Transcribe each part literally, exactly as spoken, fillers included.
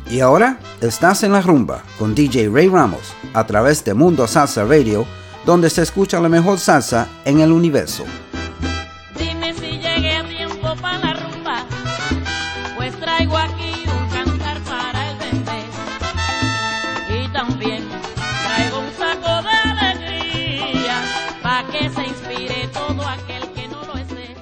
Y ahora estás en la rumba con D J Ray Ramos a través de Mundo Salsa Radio, donde se escucha la mejor salsa en el universo. Dime si llegué a tiempo para la rumba, pues traigo aquí un cantar para el bebé. Y también traigo un saco de alegría, para que se inspire todo aquel que no lo esté.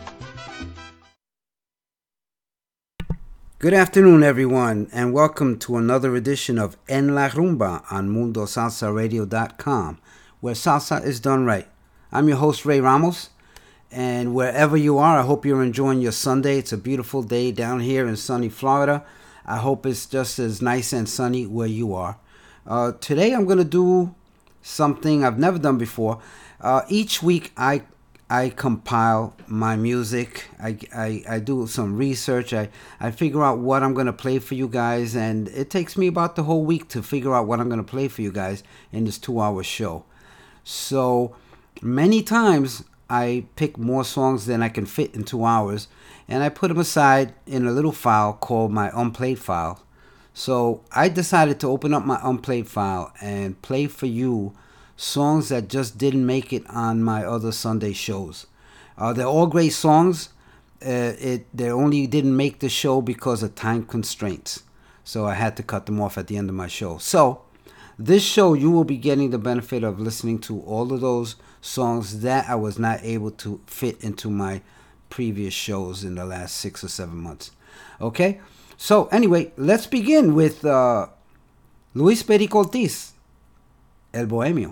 Good afternoon, everyone, and welcome to another edition of En La Rumba on Mundo Salsa Radio dot com, where salsa is done right. I'm your host, Ray Ramos, and wherever you are, I hope you're enjoying your Sunday. It's a beautiful day down here in sunny Florida. I hope it's just as nice and sunny where you are. Uh, today, I'm going to do something I've never done before. Uh, each week, I I compile my music. I, I, I do some research. I, I figure out what I'm going to play for you guys. And it takes me about the whole week to figure out what I'm going to play for you guys in this two-hour show. So many times I pick more songs than I can fit in two hours. And I put them aside in a little file called my unplayed file. So I decided to open up my unplayed file and play for you songs that just didn't make it on my other Sunday shows. Uh, they're all great songs. Uh, it they only didn't make the show because of time constraints. So I had to cut them off at the end of my show. So this show, you will be getting the benefit of listening to all of those songs that I was not able to fit into my previous shows in the last six or seven months. Okay? So anyway, let's begin with uh, Luis Perico Ortiz, El Bohemio.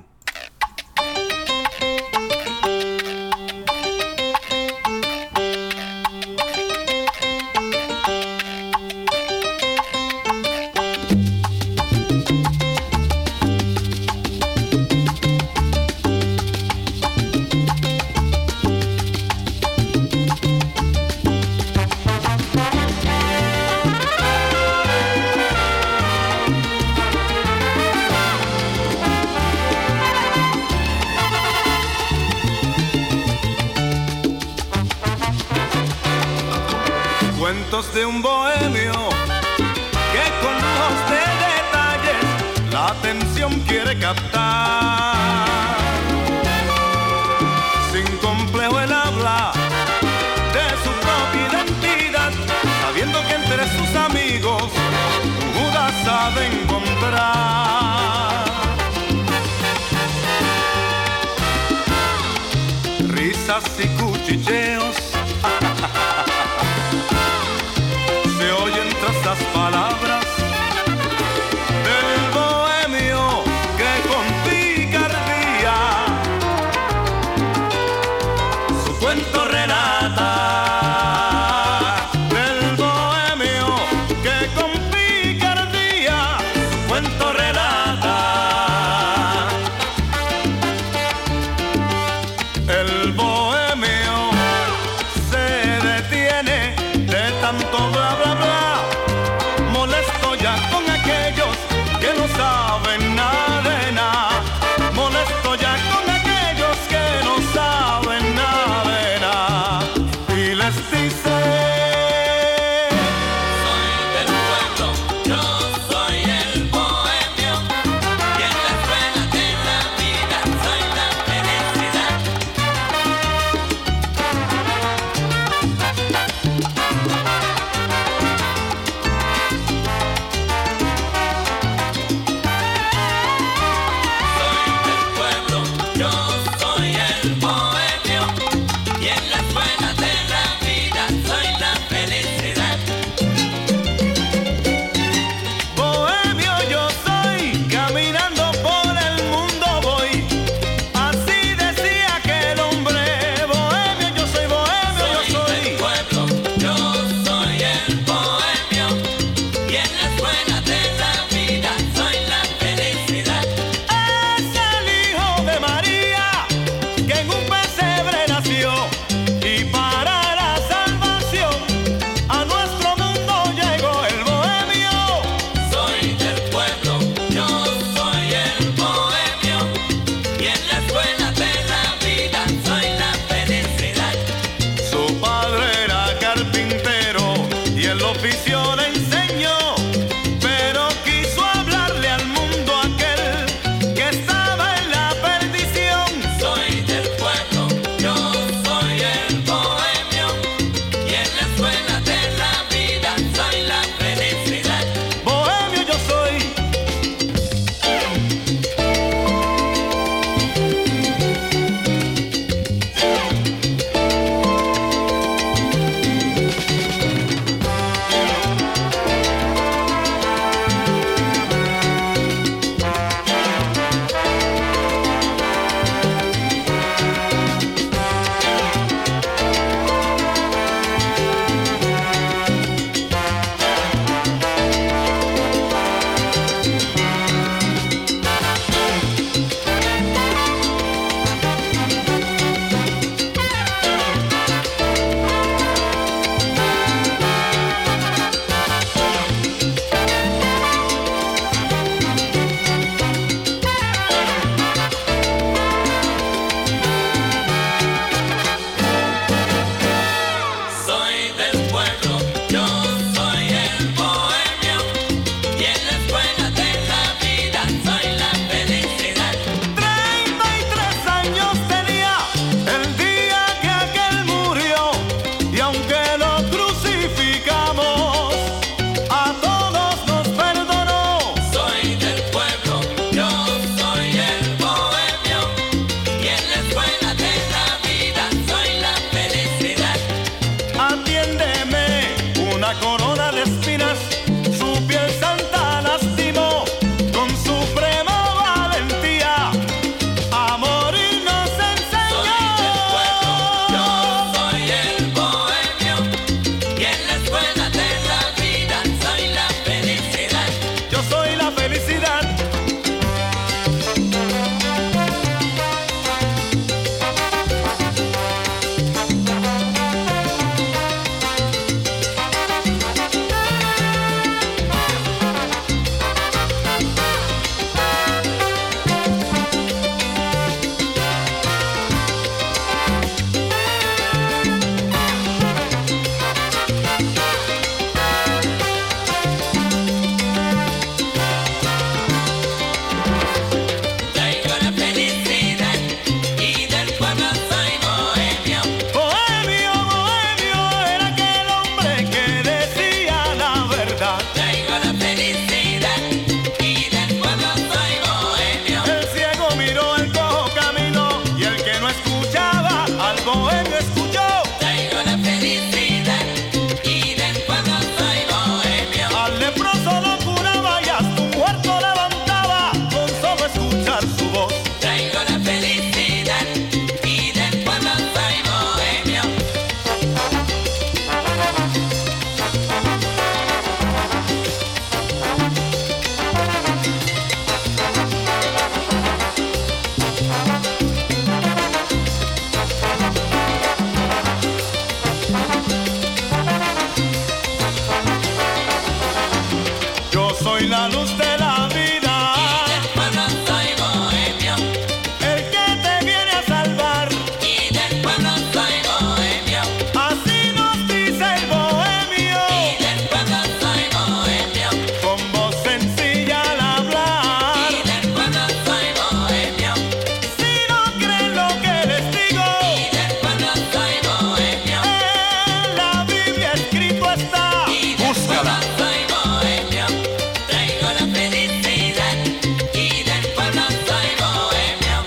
De un bohemio que con lujos de detalles la atención quiere captar. Sin complejo él habla de su propia identidad, sabiendo que entre sus amigos Judas sabe encontrar. Risas y cuchicheos se oyen tras las palabras del bohemio que con picardía su cuento relata. Del bohemio que con picardía su cuento relata. El bohemio se detiene de tanto bla bla bla, molesto ya con aquellos que no saben nada de nada, molesto ya con aquellos que no saben nada de nada, y les dice: soy del pueblo, yo soy el bohemio, y en la escuela de la vida soy la felicidad. oficio le enseñó, pero corona de espinas, su piel santa lastimó con suprema valentía. A morir nos enseñó. Soy del pueblo, yo soy el bohemio, y en la escuela de la vida soy la felicidad. Yo soy la felicidad. Traigo la felicidad y del pueblo soy bohemio. Bohemio, bohemio, era aquel hombre que decía la verdad. Traigo la felicidad y del pueblo soy bohemio. El ciego miró, el cojo caminó, y el que no escuchaba al bohemio escuchó. Traigo la felicidad y del pueblo soy bohemio. Al leproso lo curaba y hasta un muerto levantaba con solo escuchar su voz. Traigo la felicidad y del pueblo soy bohemio. Yo soy la luz de la vida, Y del pueblo soy bohemio. el que te viene a salvar. Y del pueblo soy bohemio. Así nos dice el bohemio, Y del pueblo soy bohemio. con voz sencilla al hablar. Y del pueblo soy bohemio. Si no creen lo que les digo, Y del pueblo soy bohemio. en la Biblia escrito está. Y del pueblo soy bohemio. Traigo la felicidad. Y del pueblo soy bohemio.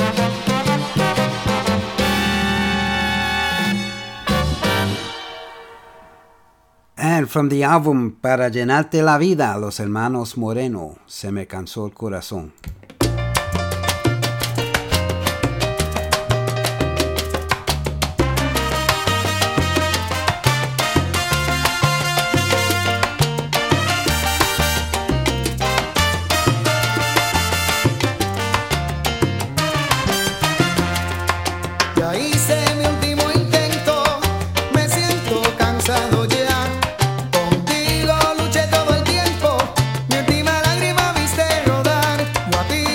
And from the album Para Llenarte la Vida, Los Hermanos Moreno, Se Me Cansó el Corazón. Ya hice mi último intento, me siento cansado ya. Contigo luché todo el tiempo, mi última lágrima viste rodar. Yo a ti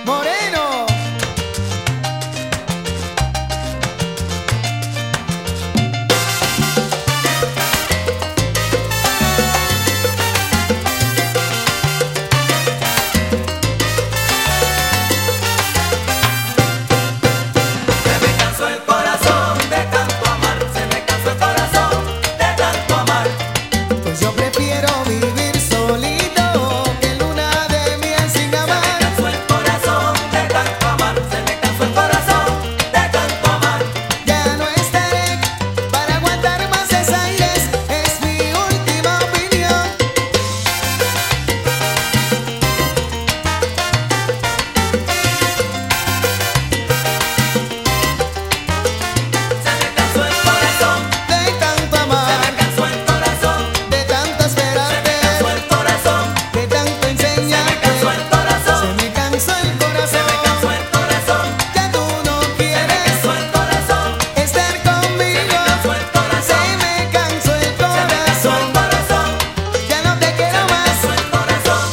Moreno. Pues yo prefiero vivir solito que luna de miel sin amar. Se me cansó el corazón de tanto amar. Se me cansó el corazón de tanto amar. Ya no estaré para aguantar más desaires, es mi última opinión. Se me cansó el corazón De tanto se amar, me cansó el corazón de tanto se me esperarte, cansó el corazón de tanto se me enseñarte. cansó el corazón Se me cansó el se me cansó corazón. el corazón Ya tú no se me quieres cansó el corazón estar conmigo. cansó el corazón Se me cansó el se me cansó el corazón. corazón Ya no te quiero más. cansó el corazón.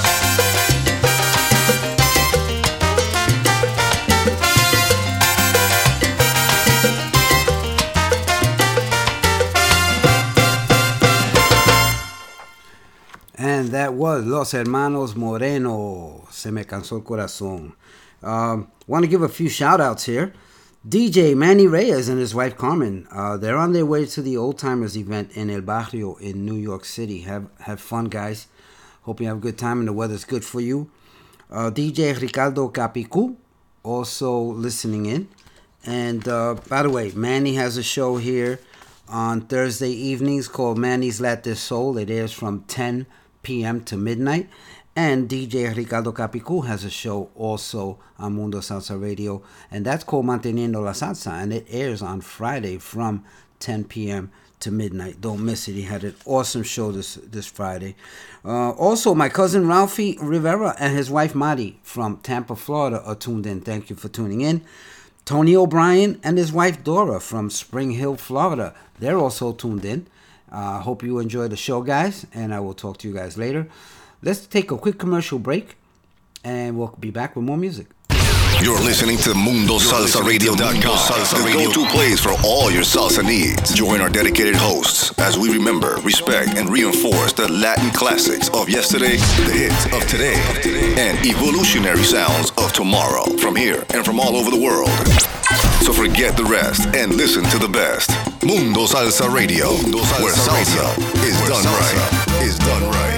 And that was Los Hermanos Moreno, Se Me Cansó el Corazón. Um, want to give a few shout outs here. D J Manny Reyes and his wife Carmen, uh, they're on their way to the Old Timers event in El Barrio in New York City. Have have fun, guys. Hope you have a good time and the weather's good for you. Uh, D J Ricardo Capicu, also listening in. And uh, by the way, Manny has a show here on Thursday evenings called Manny's Latin Soul. It airs from ten p.m. to midnight. And D J Ricardo Capicu has a show also on Mundo Salsa Radio, and that's called Manteniendo la Salsa, and it airs on Friday from ten p.m. to midnight. Don't miss it. He had an awesome show this this Friday. Uh, also, my cousin Ralphie Rivera and his wife Mari from Tampa, Florida are tuned in. Thank you for tuning in. Tony O'Brien and his wife Dora from Spring Hill, Florida. They're also tuned in. I uh, hope you enjoy the show, guys, and I will talk to you guys later. Let's take a quick commercial break, and we'll be back with more music. You're listening to Mundo Salsa Radio dot com, the go-to place for all your salsa needs. Join our dedicated hosts as we remember, respect, and reinforce the Latin classics of yesterday, the hits of today, and evolutionary sounds of tomorrow from here and from all over the world. So forget the rest and listen to the best. Mundo Salsa Radio, Mundo Salsa where salsa Radio is where done salsa right. Is done right.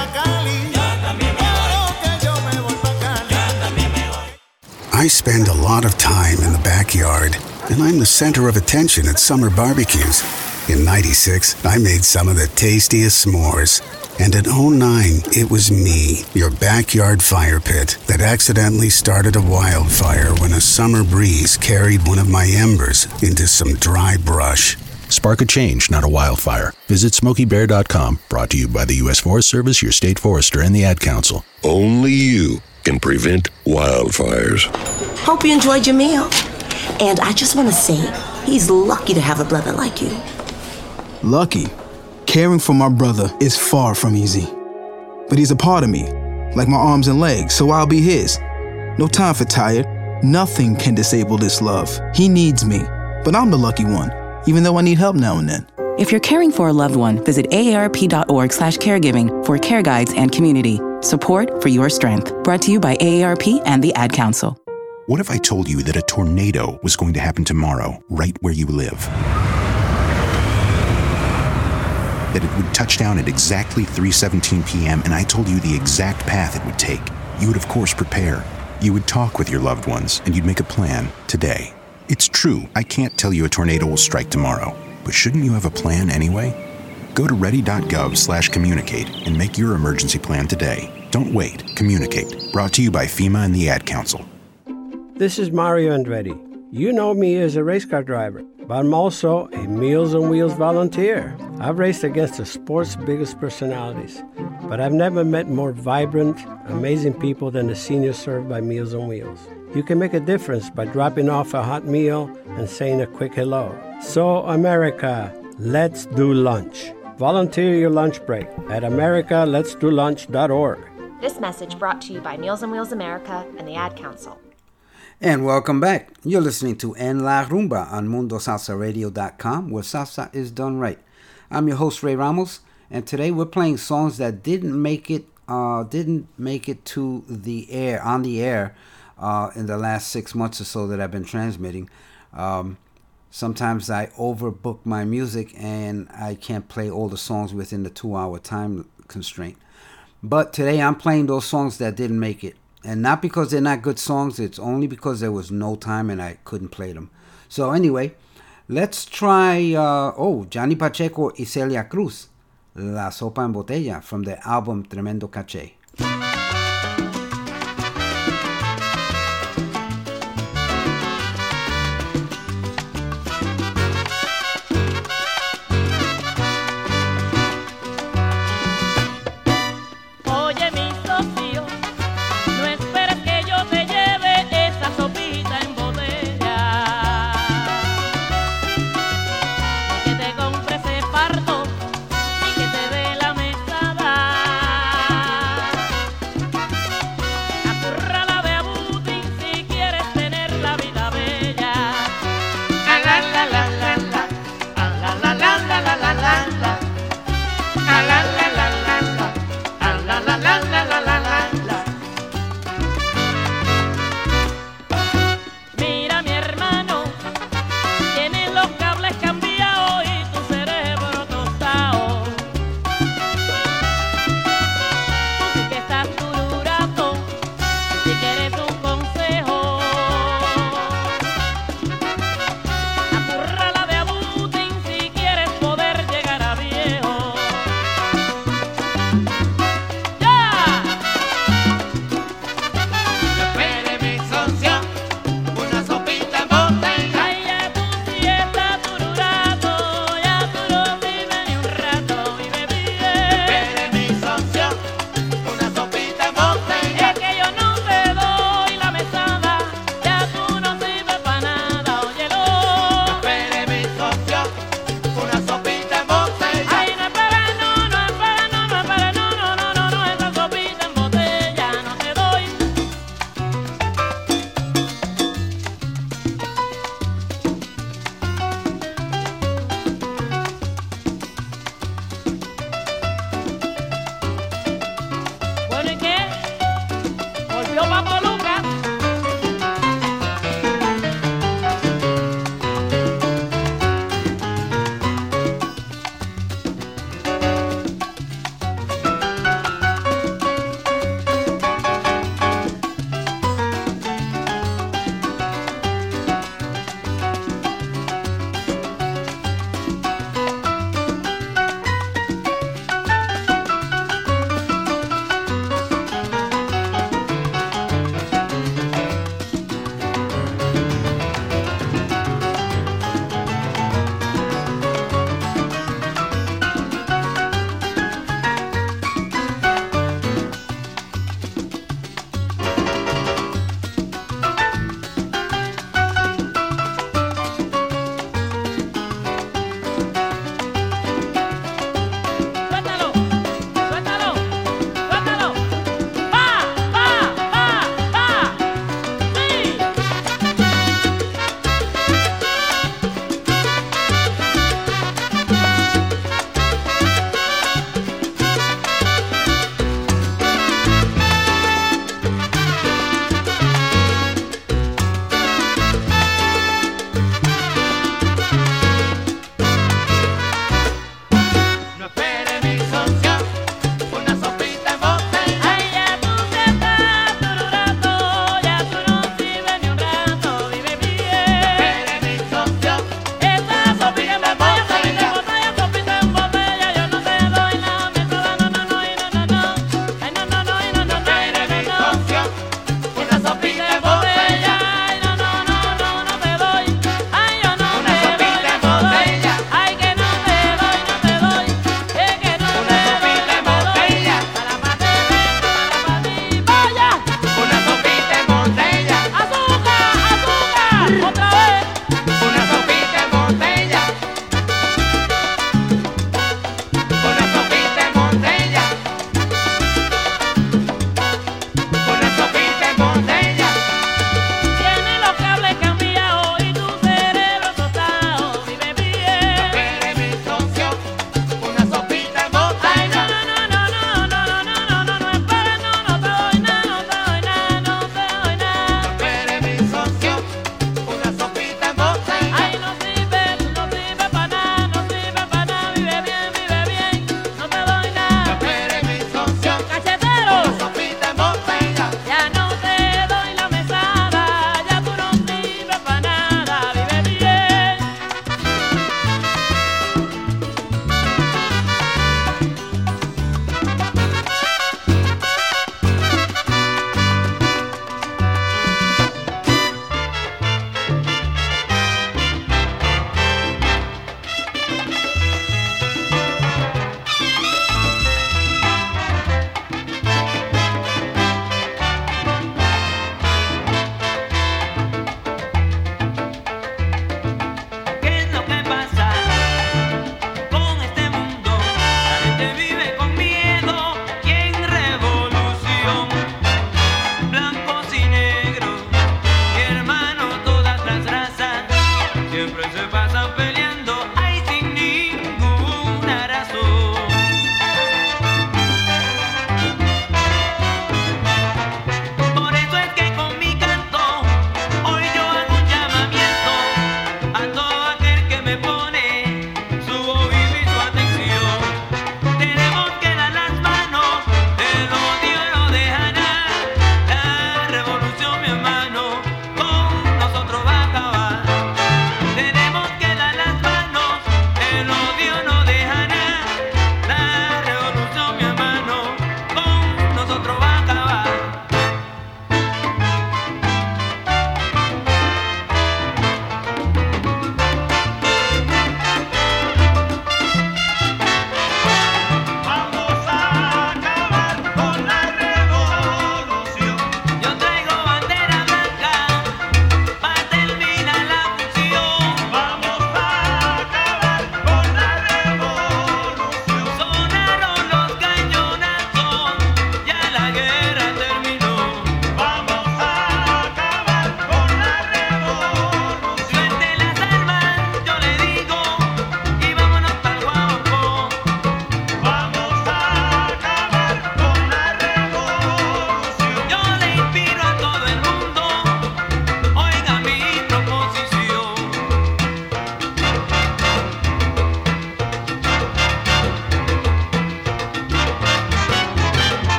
I spend a lot of time in the backyard, and I'm the center of attention at summer barbecues. In ninety-six, I made some of the tastiest s'mores. And in oh nine, it was me, your backyard fire pit, that accidentally started a wildfire when a summer breeze carried one of my embers into some dry brush. Spark a change, not a wildfire. Visit Smokey Bear dot com, brought to you by the U S Forest Service, your state forester, and the Ad Council. Only you can prevent wildfires. Hope you enjoyed your meal. And I just want to say, he's lucky to have a brother like you. Lucky? Caring for my brother is far from easy. But he's a part of me, like my arms and legs, so I'll be his. No time for tired. Nothing can disable this love. He needs me, but I'm the lucky one, even though I need help now and then. If you're caring for a loved one, visit A A R P dot org slash caregiving for care guides and community. Support for your strength. Brought to you by A A R P and the Ad Council. What if I told you that a tornado was going to happen tomorrow, right where you live? That it would touch down at exactly three seventeen p.m. and I told you the exact path it would take. You would, of course, prepare. You would talk with your loved ones, and you'd make a plan today. It's true, I can't tell you a tornado will strike tomorrow, but shouldn't you have a plan anyway? Go to ready.gov slash communicate and make your emergency plan today. Don't wait. Communicate. Brought to you by FEMA and the Ad Council. This is Mario Andretti. You know me as a race car driver, but I'm also a Meals on Wheels volunteer. I've raced against the sport's biggest personalities, but I've never met more vibrant, amazing people than the seniors served by Meals on Wheels. You can make a difference by dropping off a hot meal and saying a quick hello. So, America, let's do lunch. Volunteer your lunch break at america lets do lunch dot org. This message brought to you by Meals on Wheels America and the Ad Council. And welcome back. You're listening to En La Rumba on mundo salsa radio dot com, where salsa is done right. I'm your host, Ray Ramos, and today we're playing songs that didn't make it uh, didn't make it to the air, on the air, uh, in the last six months or so that I've been transmitting. Um, sometimes I overbook my music and I can't play all the songs within the two-hour time constraint. But today I'm playing those songs that didn't make it. And not because they're not good songs, it's only because there was no time and I couldn't play them. So anyway, let's try, uh, oh, Johnny Pacheco y Celia Cruz, La Sopa en Botella, from the album Tremendo Caché. Compre ese parto y que te dé la mesada.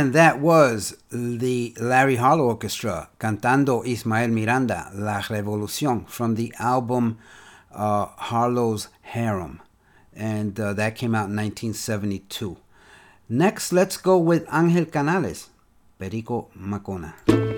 And that was the Larry Harlow Orchestra cantando Ismael Miranda, La Revolución, from the album uh, Harlow's Harem. And uh, that came out in nineteen seventy-two. Next, let's go with Angel Canales, Perico Macona.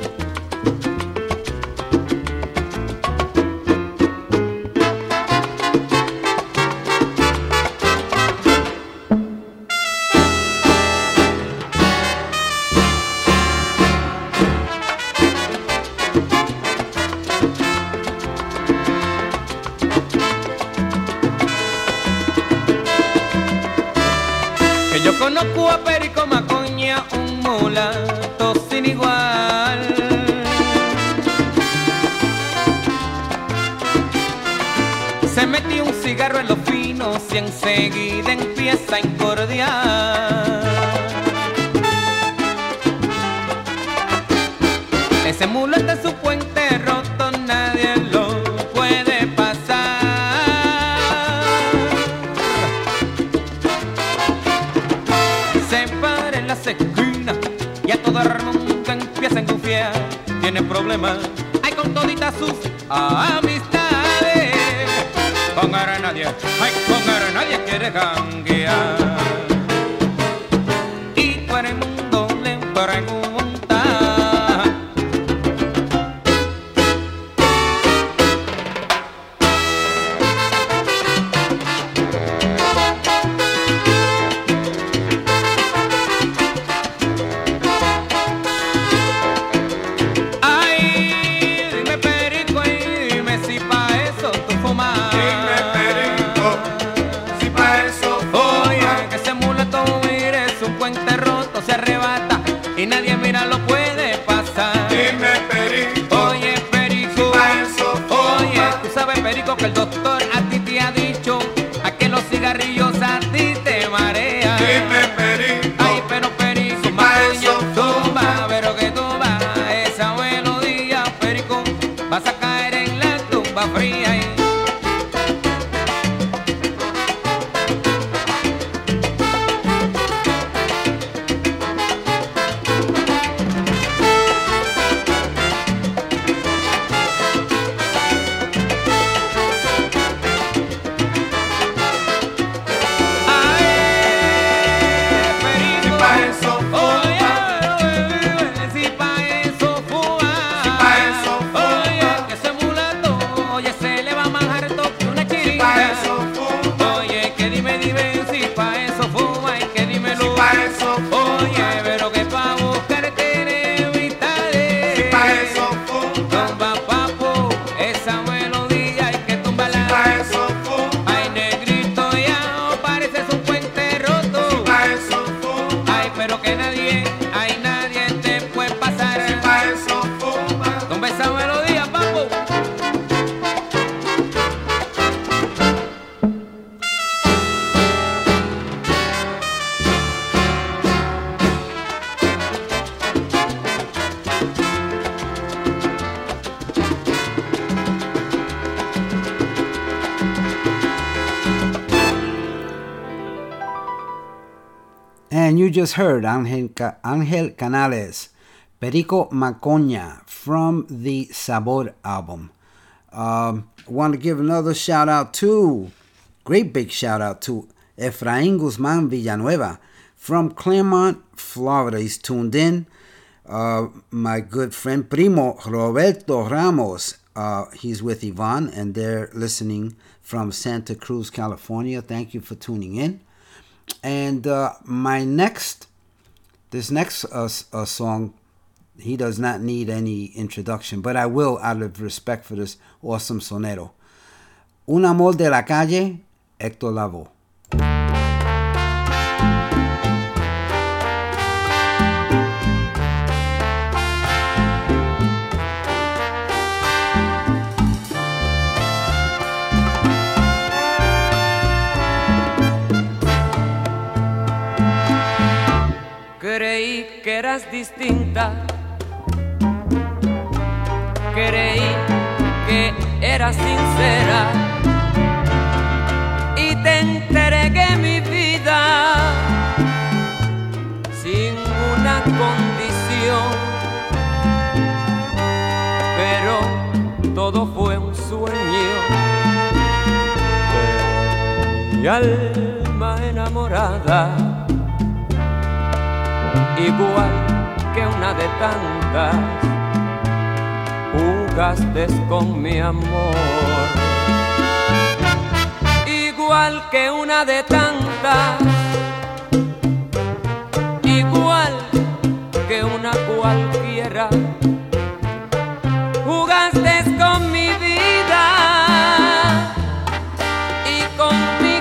Conozco a Perico Macoña, un mulato sin igual. Se metió un cigarro en los finos y enseguida empieza a incordiar. Ese mulato en su puente roto nadie lo puede pasar. Esquina y a todo el mundo empieza a engufiar. Tiene problemas, hay con toditas sus amistades. Con a nadie, ay, con a nadie quiere janguear. Y todo el mundo le pregunta. Y nadie mira lo puede pasar. Dime Perico, oye Perico, si eso, oye, tú sabes Perico que el doctor a ti te ha dicho a que los cigarrillos a ti te marean. Dime Perico, ay pero Perico, si Macoña, tumba, pero que tumba esa melodía Perico, vas a caer en la tumba fría. Y And you just heard Angel, Ca- Angel Canales, Perico Macoña, from the Sabor album. Um, I want to give another shout out to, great big shout out to Efraín Guzmán Villanueva from Claremont, Florida. He's tuned in. Uh, my good friend Primo Roberto Ramos, uh, he's with Yvonne and they're listening from Santa Cruz, California. Thank you for tuning in. And uh, my next, this next uh, uh, song, he does not need any introduction, but I will out of respect for this awesome sonero. Un amor de la calle, Héctor Lavoe. Creí que eras distinta, creí que eras sincera y te entregué mi vida sin una mi alma enamorada, igual que una de tantas, jugaste con mi amor. Igual que una de tantas, igual que una cualquiera, jugaste con mi vida y con mi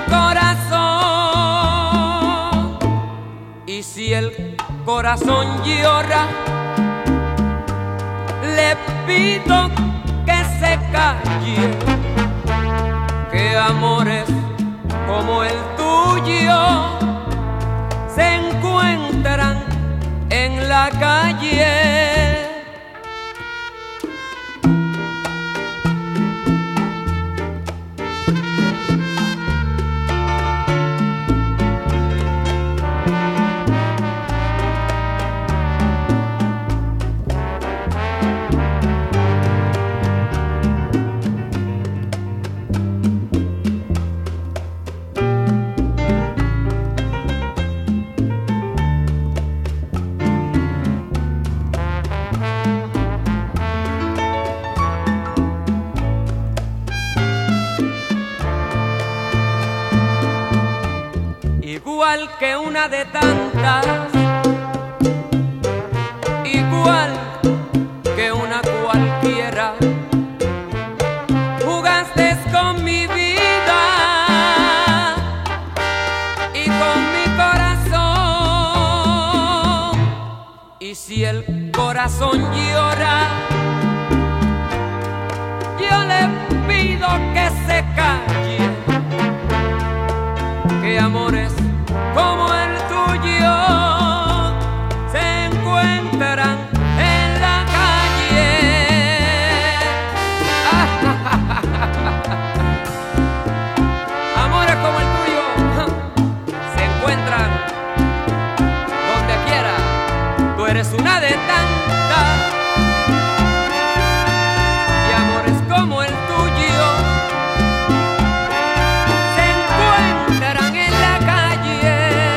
corazón. Y si el corazón llora, le pido que se calle, que amores como el tuyo se encuentran en la calle. Igual que una de tantas, igual que una cualquiera, jugaste con mi vida y con mi corazón. Y si el corazón llora, yo le pido que se calle, que amores como el tuyo se encuentran en la calle. Amores como el tuyo se encuentran donde quiera. Tú eres una de tantas, y amores como el tuyo se encuentran en la calle.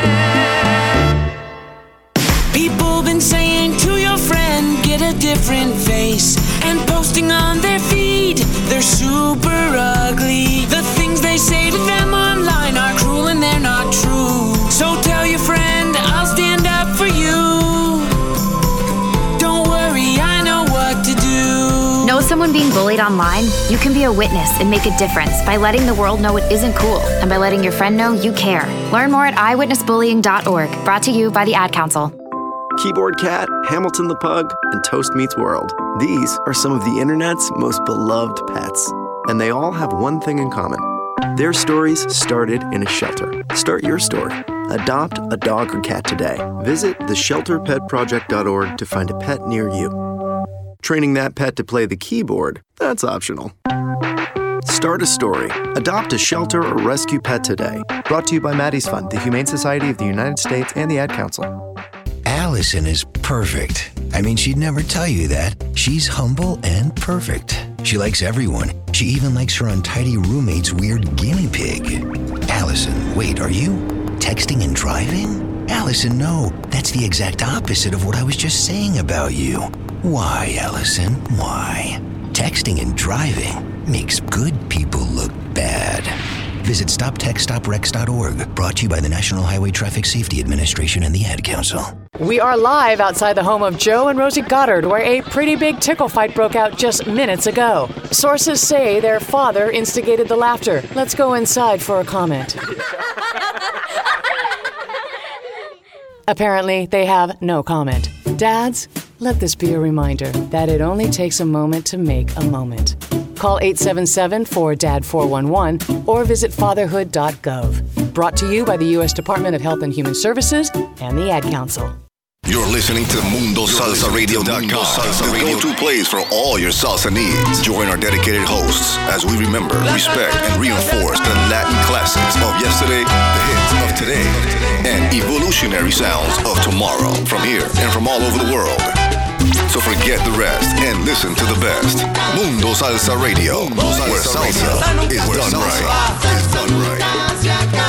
People been saying to your friend, get a different face, and posting on their feed, they're super ugly. The things they say to them online are cruel and they're not true. So tell your friend, I'll stand up for you. Don't worry, I know what to do. Know someone being bullied online? You can be a witness and make a difference by letting the world know it isn't cool and by letting your friend know you care. Learn more at eyewitness bullying dot org. Brought to you by the Ad Council. Keyboard Cat, Hamilton the Pug, and Toast Meets World. These are some of the internet's most beloved pets, and they all have one thing in common. Their stories started in a shelter. Start your story. Adopt a dog or cat today. Visit the shelter pet project dot org to find a pet near you. Training that pet to play the keyboard, that's optional. Start a story. Adopt a shelter or rescue pet today. Brought to you by Maddie's Fund, the Humane Society of the United States, and the Ad Council. Allison is perfect. I mean, she'd never tell you that. She's humble and perfect. She likes everyone. She even likes her untidy roommate's weird guinea pig. Allison, wait, are you texting and driving? Allison, no. That's the exact opposite of what I was just saying about you. Why, Allison? Why? Texting and driving makes good people look bad. Visit stop text stop wrecks dot org. Brought to you by the National Highway Traffic Safety Administration and the Ad Council. We are live outside the home of Joe and Rosie Goddard, where a pretty big tickle fight broke out just minutes ago. Sources say their father instigated the laughter. Let's go inside for a comment. Apparently, they have no comment. Dads, let this be a reminder that it only takes a moment to make a moment. Call eight seven seven, four D A D, four one one or visit fatherhood dot gov. Brought to you by the U S Department of Health and Human Services and the Ad Council. You're listening to Mundo Salsa Radio dot com, the go-to place for all your salsa needs. Join our dedicated hosts as we remember, respect, and reinforce the Latin classics of yesterday, the hits of today, and evolutionary sounds of tomorrow from here and from all over the world. So forget the rest and listen to the best. Mundo Salsa Radio, where salsa is done right. Is done right.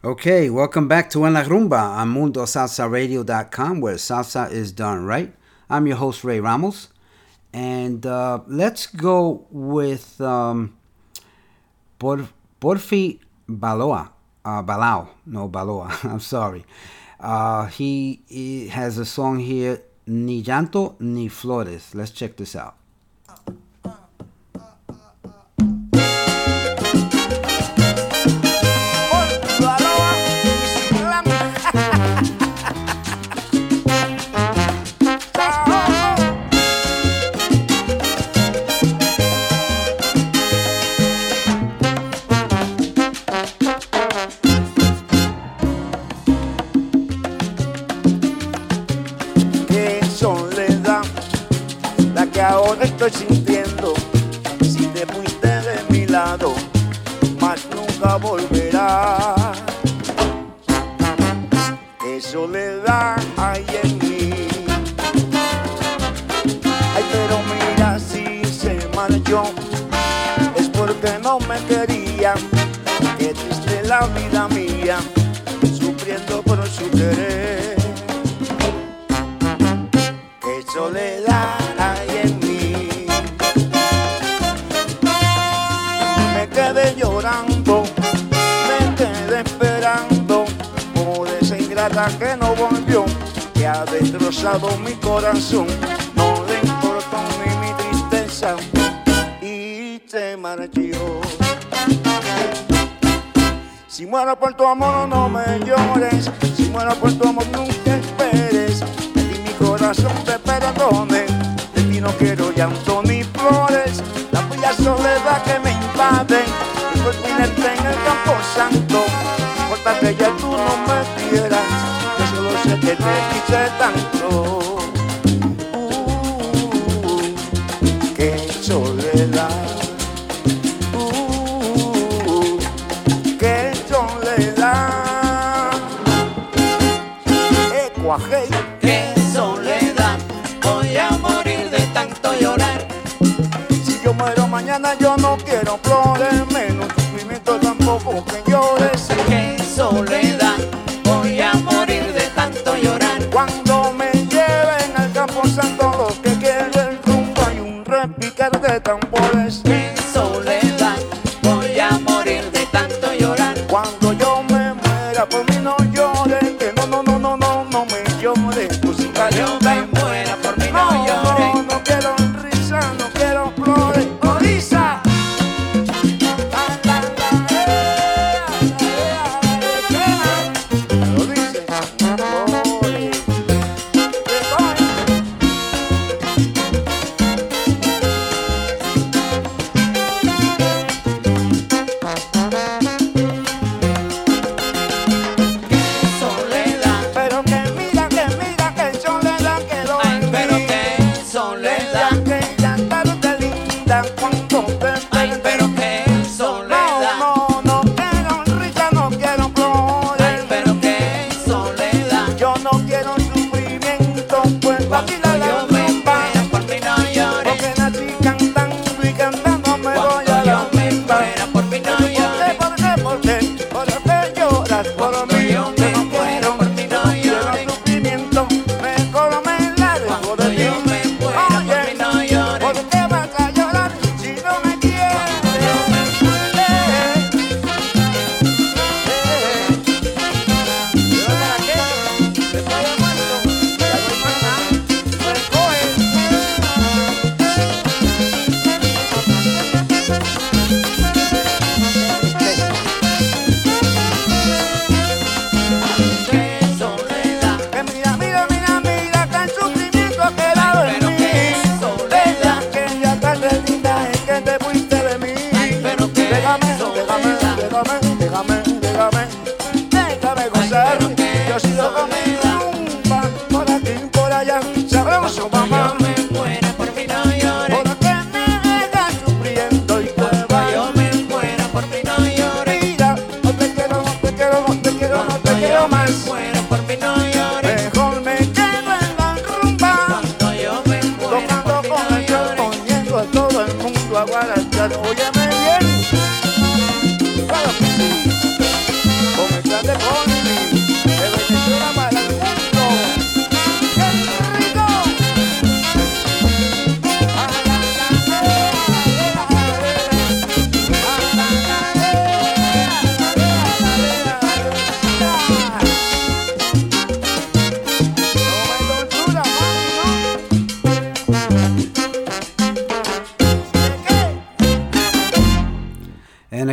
Okay, welcome back to En La Rumba on Mundo Salsa Radio dot com, where salsa is done right. I'm your host, Ray Ramos. And uh, let's go with um, Por, Porfi Baloa. Uh, Balao. No, Baloa. I'm sorry. Uh, he, he has a song here, Ni Llanto Ni Flores. Let's check this out. Ahora estoy sintiendo, si te fuiste de mi lado, más nunca volverás. Qué soledad hay en mí. Ay, pero mira, si se marchó, es porque no me quería. Qué triste la vida mía, sufriendo por su querer. Qué soledad hay en mí. Me quedé llorando, me quedé esperando por esa ingrata que no volvió, que ha destrozado mi corazón. No le importó ni mi tristeza y se marchó. Si muero por tu amor no me llores, si muero por tu amor nunca esperes. De ti mi corazón te perdone, de ti no quiero llanto ni flores. La fría soledad que me invade, y por tenerte en el campo santo. No importa que ya tú no me quieras, yo solo sé que te quise tanto. Uh, qué soledad. Hey. Qué soledad, voy a morir de tanto llorar. Si yo muero mañana yo no quiero flores, menos sufrimiento tampoco que llores. Qué soledad, voy a morir de tanto llorar. Cuando me lleven al campo santo, lo que quiero es rumbo y un repicar de tambores. Qué soledad, voy a morir de tanto llorar. Cuando yo me muera por mí no llores, que no, no, no, no, no, no me llores. Yo me muera por mí no, no llores. No, no quiero risa, no quiero flores. ¡Orisa! Lo dice.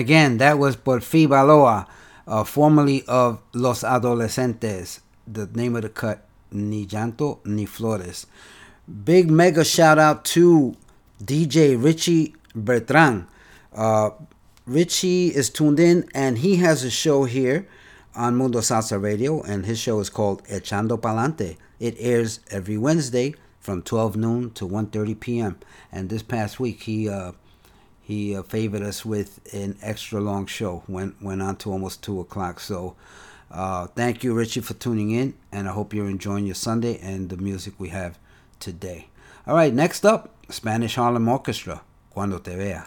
again, that was Por Fi Baloa, uh, formerly of Los Adolescentes. The name of the cut, Ni Llanto Ni Flores. Big mega shout out to D J Richie Bertrand. Uh, Richie is tuned in, and he has a show here on Mundo Salsa Radio, and his show is called Echando Palante. It airs every Wednesday from twelve noon to one thirty p.m. And this past week, he uh, he uh, favored us with an extra long show. Went went on to almost two o'clock. So uh, thank you, Richie, for tuning in, and I hope you're enjoying your Sunday and the music we have today. All right, next up, Spanish Harlem Orchestra, Cuando Te Vea.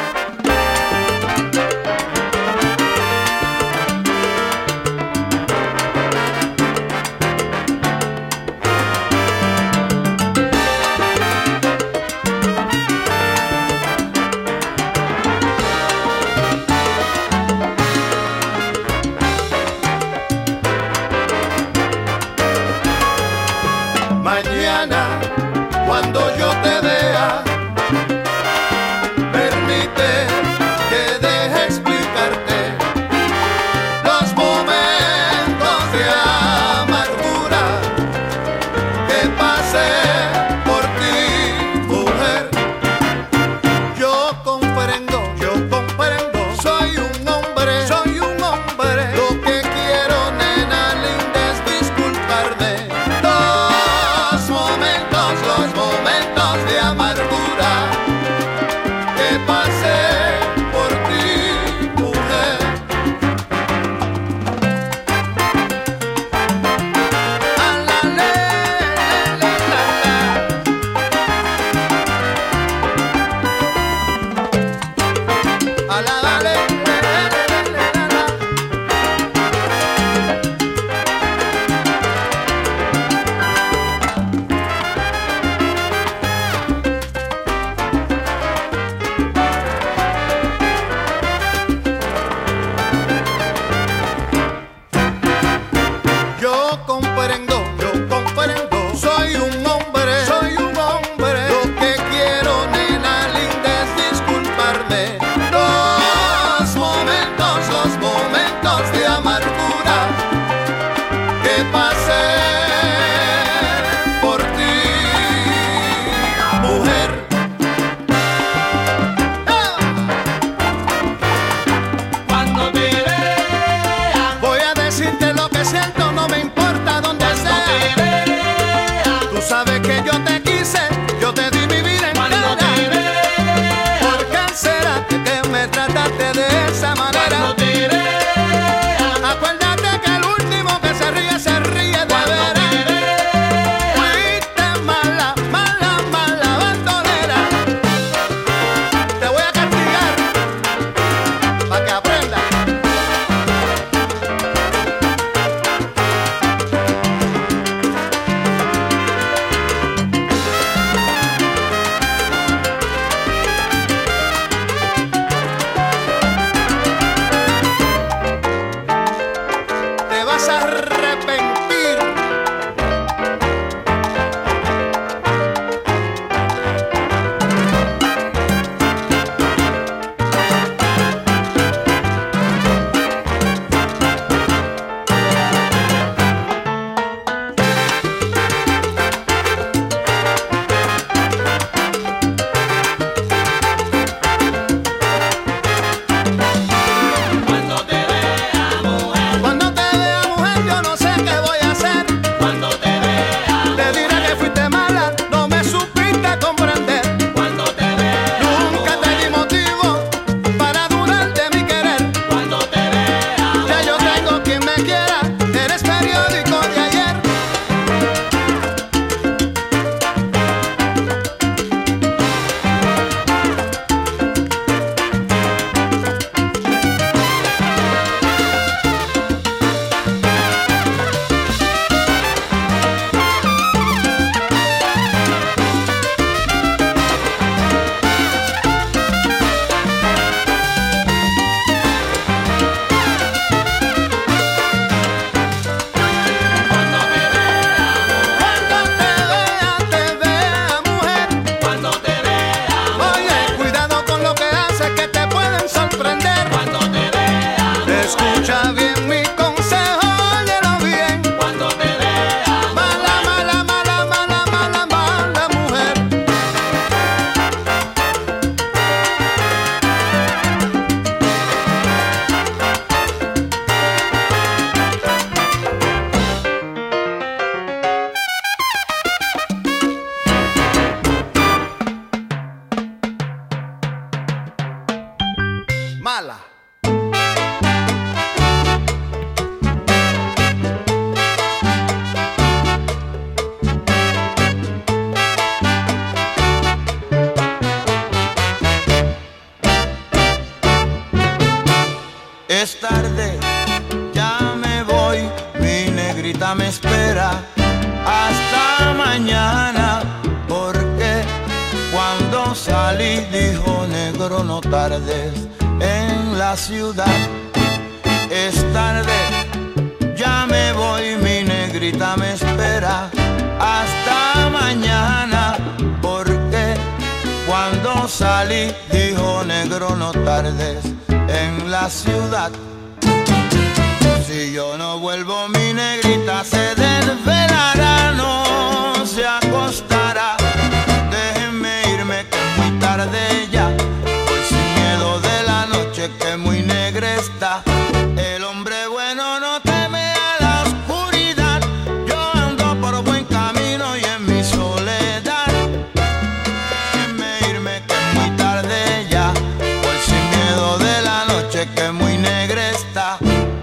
Mañana, cuando yo te vea, permite que deje explicarte los momentos de amargura que pasé por ti, mujer. Yo comprendo, yo comprendo, soy un hombre, soy un hombre. Lo que quiero, nena linda, es disculparme. Los momentos salí, dijo negro, no tardes en la ciudad. Es tarde, ya me voy, mi negrita me espera. Hasta mañana, porque cuando salí, dijo negro, no tardes en la ciudad. Si yo no vuelvo, mi negrita se desvelará, no se acostará. Déjenme irme que es muy tarde ya, voy sin miedo de la noche que muy negra está. El hombre bueno no teme a la oscuridad, yo ando por buen camino y en mi soledad. Déjenme irme que es muy tarde ya, voy sin miedo de la noche que muy negra está.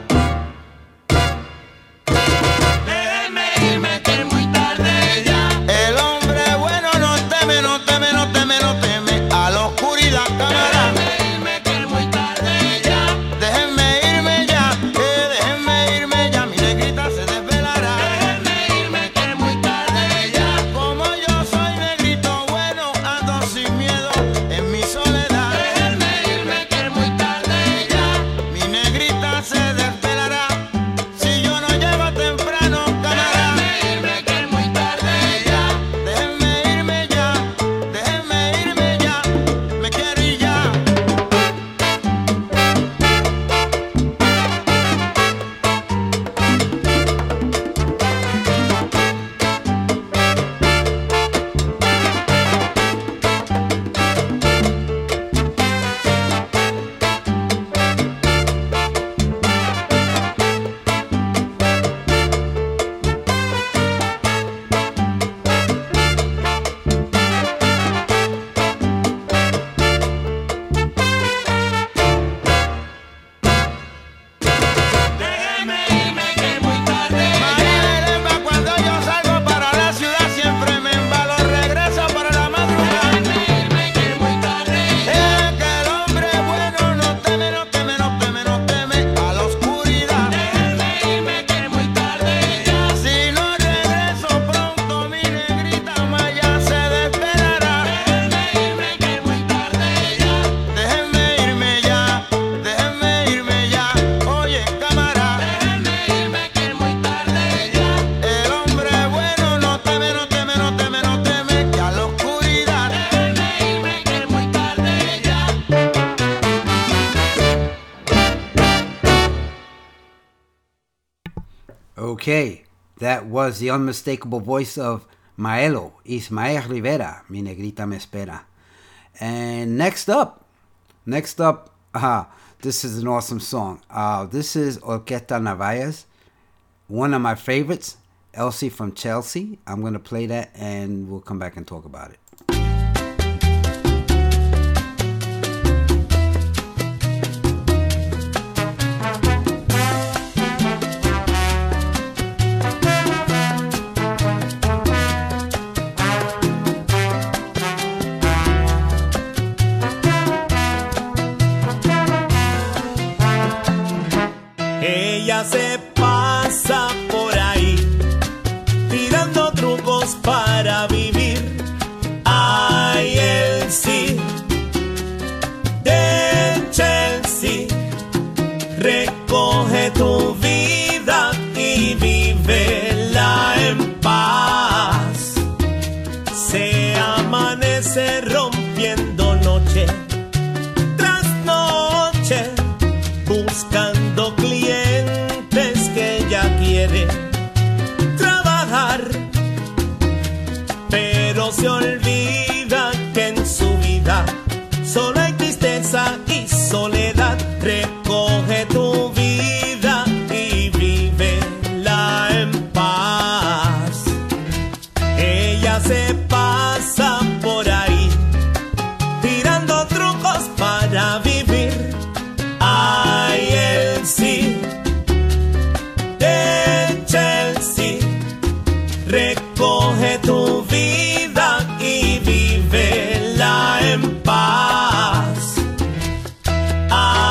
Okay, that was the unmistakable voice of Maelo, Ismael Rivera, Mi Negrita Me Espera. And next up, next up, uh, this is an awesome song. Uh, this is Orquesta Navalles, one of my favorites, Elsie from Chelsea. I'm going to play that and we'll come back and talk about it. Ella se pasa por ahí, tirando trucos para vivir. Ay, Elsie de Chelsea, recoge tu vida y vívela en paz. Se amanece rompiendo noche tras noche, buscando clientes que ella quiere trabajar, pero se olvida que en su vida solo hay tristeza y soledad. Recoge tu vida y vívela en paz. Ella se pasa por ahí, tirando trucos para vivir. Ay, Elsie de Chelsea, recoge tu vida y vívela en paz. Ay,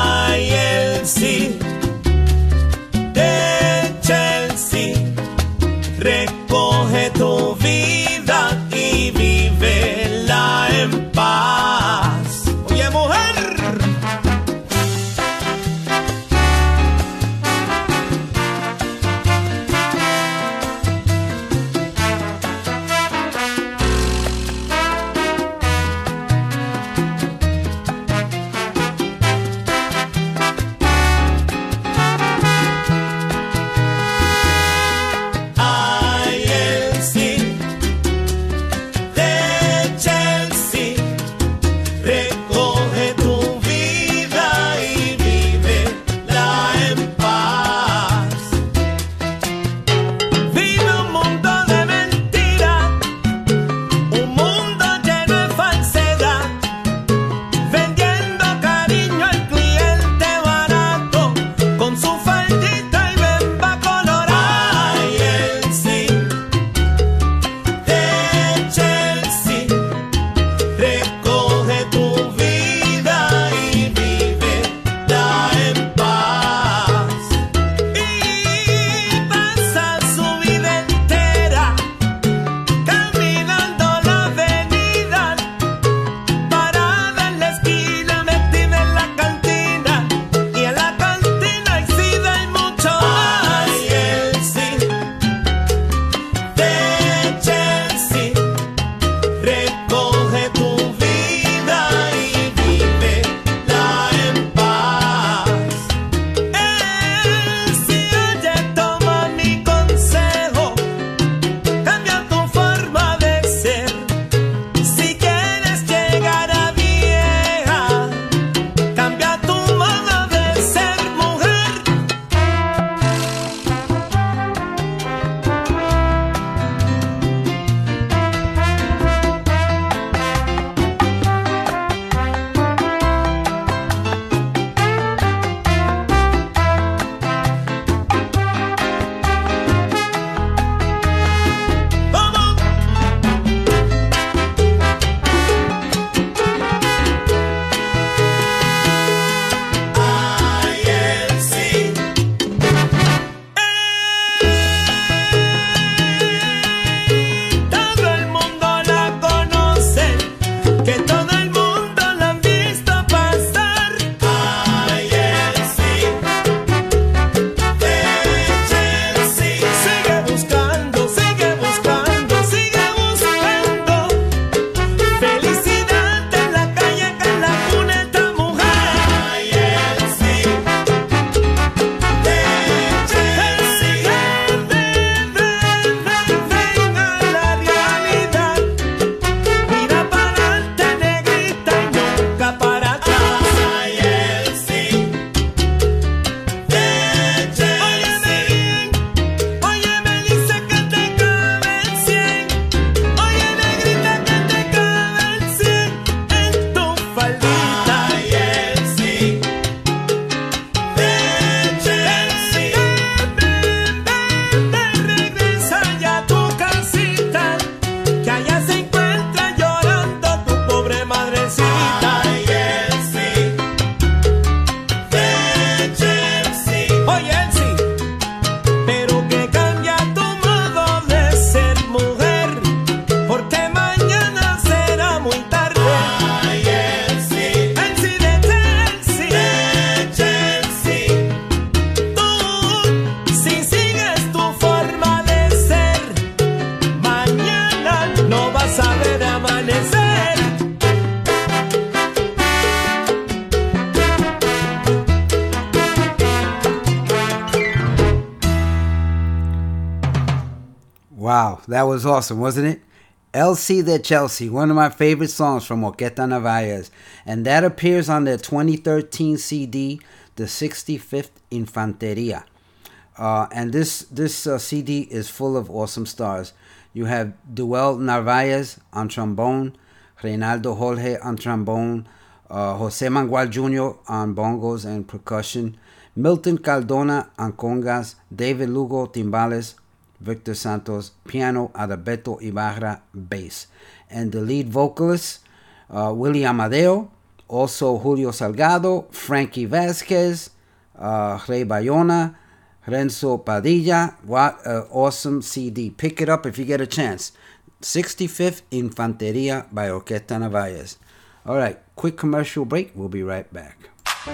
Wow, that was awesome, wasn't it? El C de Chelsea, one of my favorite songs from Orquesta Narvaez. And that appears on their twenty thirteen C D, The sixty-fifth Infanteria. Uh, and this this uh, C D is full of awesome stars. You have Duel Narvaez on trombone, Reynaldo Jorge on trombone, uh, Jose Mangual Junior on bongos and percussion, Milton Cardona on congas, David Lugo timbales, Victor Santos piano, Adalberto Ibarra bass. And the lead vocalists, uh, Willie Amadeo, also Julio Salgado, Frankie Vasquez, uh, Rey Bayona, Renzo Padilla. What an awesome C D. Pick it up if you get a chance. sixty-fifth Infanteria by Orquesta Narvaez. All right, quick commercial break. We'll be right back.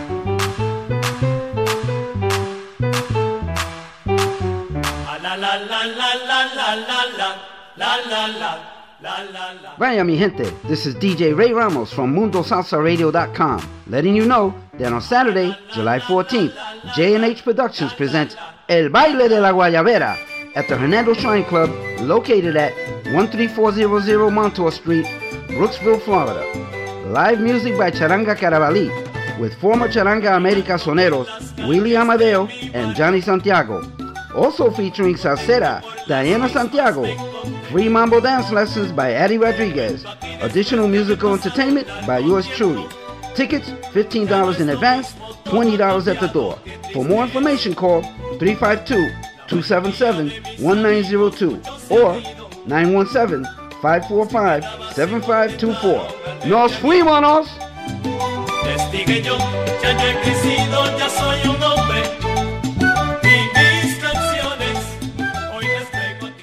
Vaya mi gente, this is D J Ray Ramos from Mundo Salsa Radio dot com, letting you know that on Saturday, July fourteenth, J and H Productions presents El Baile de la Guayabera at the Hernando Shrine Club, located at one three four zero zero Montour Street, Brooksville, Florida. Live music by Charanga Carabalí, with former Charanga America soneros Willie Amadeo and Johnny Santiago. Also featuring salsera Diana Santiago. Free mambo dance lessons by Eddie Rodriguez. Additional musical entertainment by yours truly. Tickets fifteen dollars in advance, twenty dollars at the door. For more information, call three five two, two seven seven, one nine zero two or nine one seven, five four five, seven five two four. ¡Nos fuimos! Les dije yo, ya yo he crecido, ya soy un hombre. Y mis canciones hoy les traigo a ti.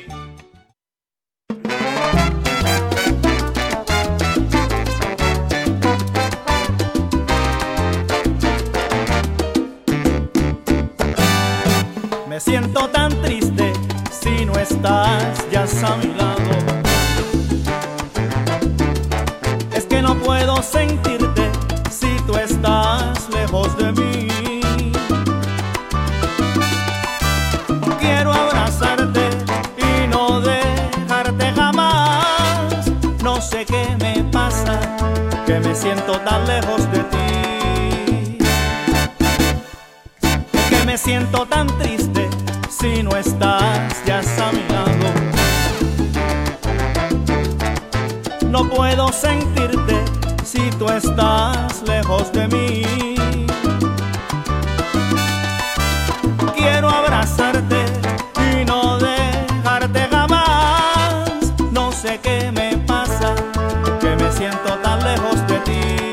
Me siento tan triste si no estás ya a mi lado. Es que no puedo sentirte si tú estás lejos de mí. Quiero abrazarte y no dejarte jamás. No sé qué me pasa, que me siento tan lejos de ti. Es que me siento tan triste si no estás ya a mi lado. No puedo sentirte si tú estás lejos de mí. Quiero abrazarte y no dejarte jamás. No sé qué me pasa, que me siento tan lejos de ti.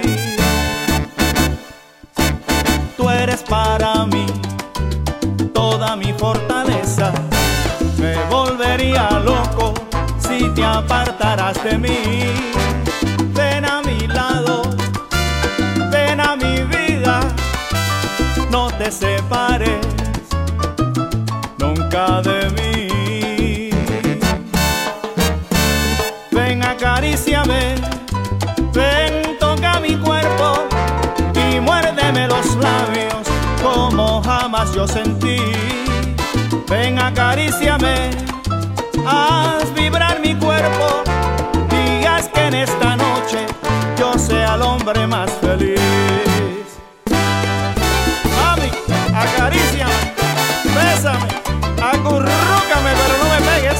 Tú eres para mí toda mi fortaleza. Me volvería loco si te apartarás de mí. Ven a mi lado, ven a mi vida, no te separes nunca de mí. Ven, acaríciame, ven, toca mi cuerpo y muérdeme los labios como jamás yo sentí. Ven, acaríciame, haz vibrar mi cuerpo y haz que en esta noche yo sea el hombre más feliz. Mami, acaríciame, bésame, acurrúcame, pero no me pegues.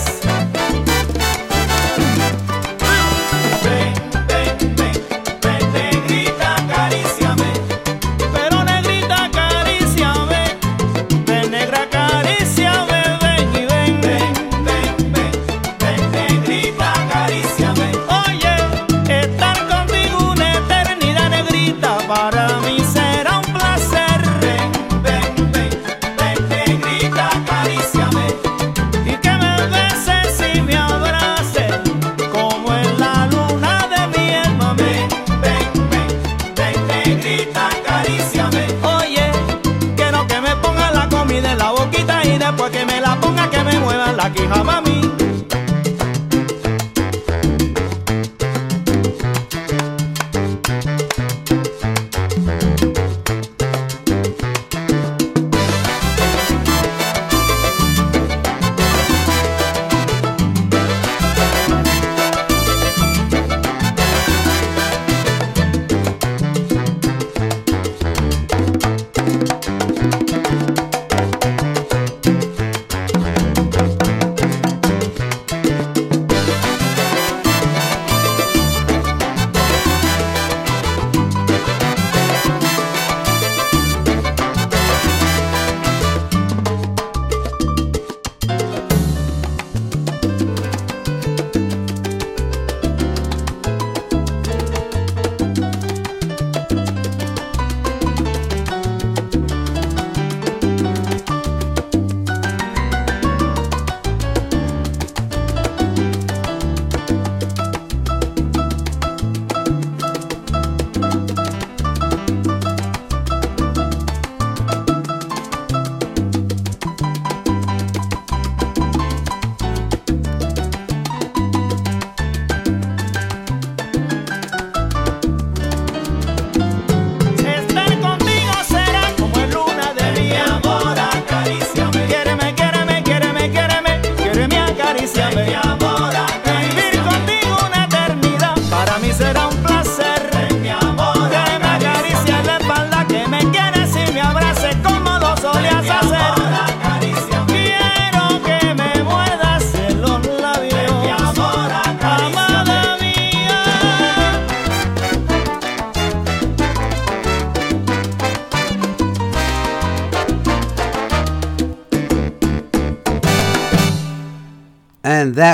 Ven, ven, ven, ven, negrita, acaríciame, pero negrita, acaríciame, ven, negra, acaríciame, ven y ven, ven, ven, ven, ven, negrita, acaríciame. Oye, estar contigo una eternidad, negrita,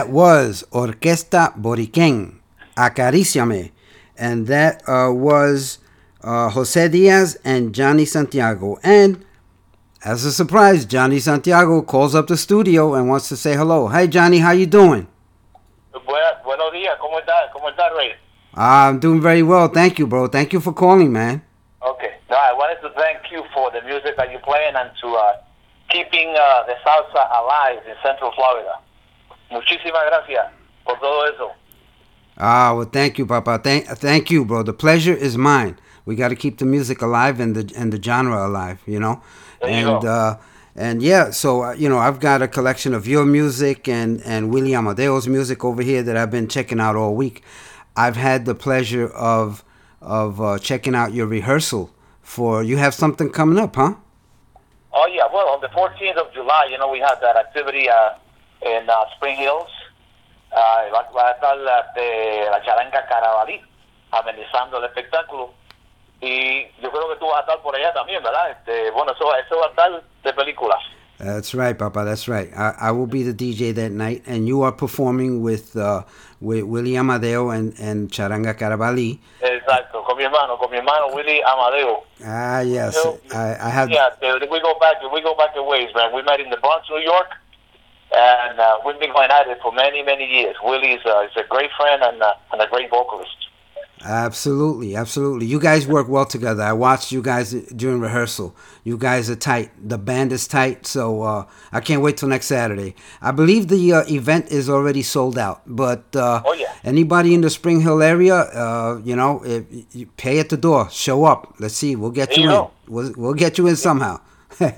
that was Orquesta Boriquén, Acaríciame. And that uh, was uh, Jose Diaz and Johnny Santiago. And as a surprise, Johnny Santiago calls up the studio and wants to say hello. Hi, Johnny. How you doing? Buenos, buenos días. ¿Cómo estás? ¿Cómo estás, Ray? Uh, I'm doing very well. Thank you, bro. Thank you for calling, man. Okay. No, I wanted to thank you for the music that you're playing and to uh, keeping uh, the salsa alive in Central Florida. Muchísimas gracias por todo eso. Ah, well, thank you, Papa. Thank, thank you, bro. The pleasure is mine. We got to keep the music alive and the and the genre alive, you know. There and you go. uh, and yeah, so uh, you know, I've got a collection of your music and and Willie Amadeo's music over here that I've been checking out all week. I've had the pleasure of of uh, checking out your rehearsal for. You have something coming up, huh? Oh, yeah. Well, on the fourteenth of July, you know, we had that activity uh, in uh, Spring Hills. Uh, va, va a estar la, de, la charanga Carabalí amenizando el espectáculo. Y yo creo que tú vas a estar por allá también, ¿verdad? Este, bueno, eso, eso va a estar de películas. That's right, Papa. That's right. I, I will be the D J that night, and you are performing with uh, with Willie Amadeo and, and Charanga Carabalí. Exacto, con mi hermano, con mi hermano Willie Amadeo. Ah, yes. I, I have. Yeah, we go back. We go back a ways, man. We met in the Bronx, New York, and uh, we've been going at it for many, many years. Willie's uh, is a great friend and uh, and a great vocalist. Absolutely, absolutely. You guys work well together. I watched you guys during rehearsal. You guys are tight. The band is tight, so uh, I can't wait till next Saturday. I believe the uh, event is already sold out, but uh, oh, yeah. anybody in the Spring Hill area, uh, you know, if you pay at the door, show up. Let's see, we'll get There you, you in. go. We'll, we'll get you in somehow. That's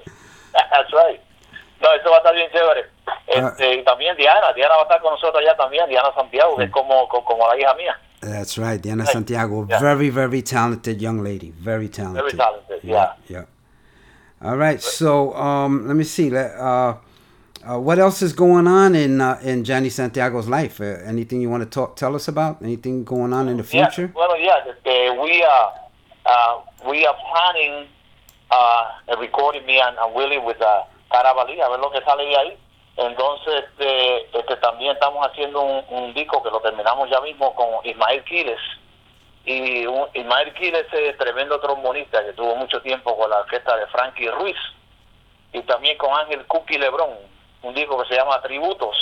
right. No, eso va a estar bien chévere. Este, y también Diana, Diana va a estar con nosotros allá también, Diana Santiago, que es como, como, como la hija mía. That's right, Diana Right. Santiago, Yeah. very, very talented young lady, very talented. Very talented, yeah. Yeah. All right, so um, let me see. Let, uh, uh, what else is going on in uh, in Johnny Santiago's life? Uh, anything you want to talk, tell us about? Anything going on in the future? Yeah, well, yeah, este, we are uh, we are planning uh, a recording me and, and Willie with uh, Carabalí, a ver lo que sale de ahí. Entonces, este, este, también estamos haciendo un, un disco que lo terminamos ya mismo con Ismael Quiles. Y un, Ismael Quiles es tremendo trombonista que tuvo mucho tiempo con la orquesta de Frankie Ruiz. Y también con Ángel Cookie Lebrón, un disco que se llama Tributos,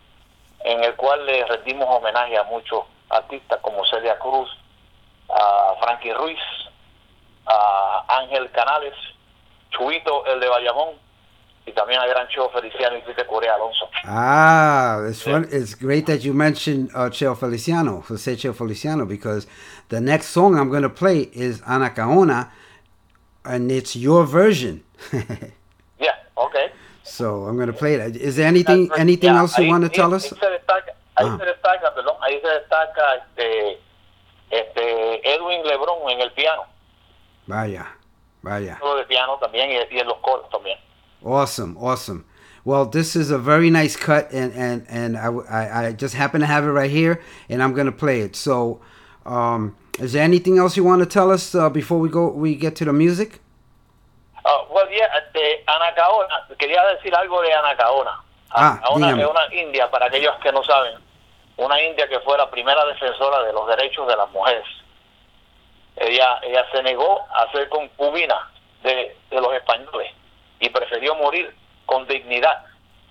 en el cual le rendimos homenaje a muchos artistas como Celia Cruz, a Frankie Ruiz, a Ángel Canales, Chuito, el de Bayamón, y también al gran Cheo Feliciano y Tite Corea Alonso. Ah, it's fun. It's great that you mentioned uh, Cheo Feliciano, Jose Cheo Feliciano, because the next song I'm going to play is Anacaona, and it's your version. Yeah, okay. So I'm going to play that. Is there anything anything Yeah, else you ahí- want to ahí- tell ahí us? se destaca, ahí Ah. se destaca, perdón, ahí se destaca este, este Edwin Lebrón en el piano, Vaya, vaya. solo de piano también y, y en los coros también. Awesome, awesome. Well, this is a very nice cut, and and and I, I, I just happen to have it right here, and I'm gonna play it. So, um, is there anything else you want to tell us uh, before we go? We get to the music. Uh, well, yeah, este, Anacaona, quería decir algo de Anacaona. Ah, Anacaona dígame. es una india, para aquellos que no saben, una india que fue la primera defensora de los derechos de las mujeres. Ella, ella se negó a ser concubina de, de los españoles y prefirió morir con dignidad,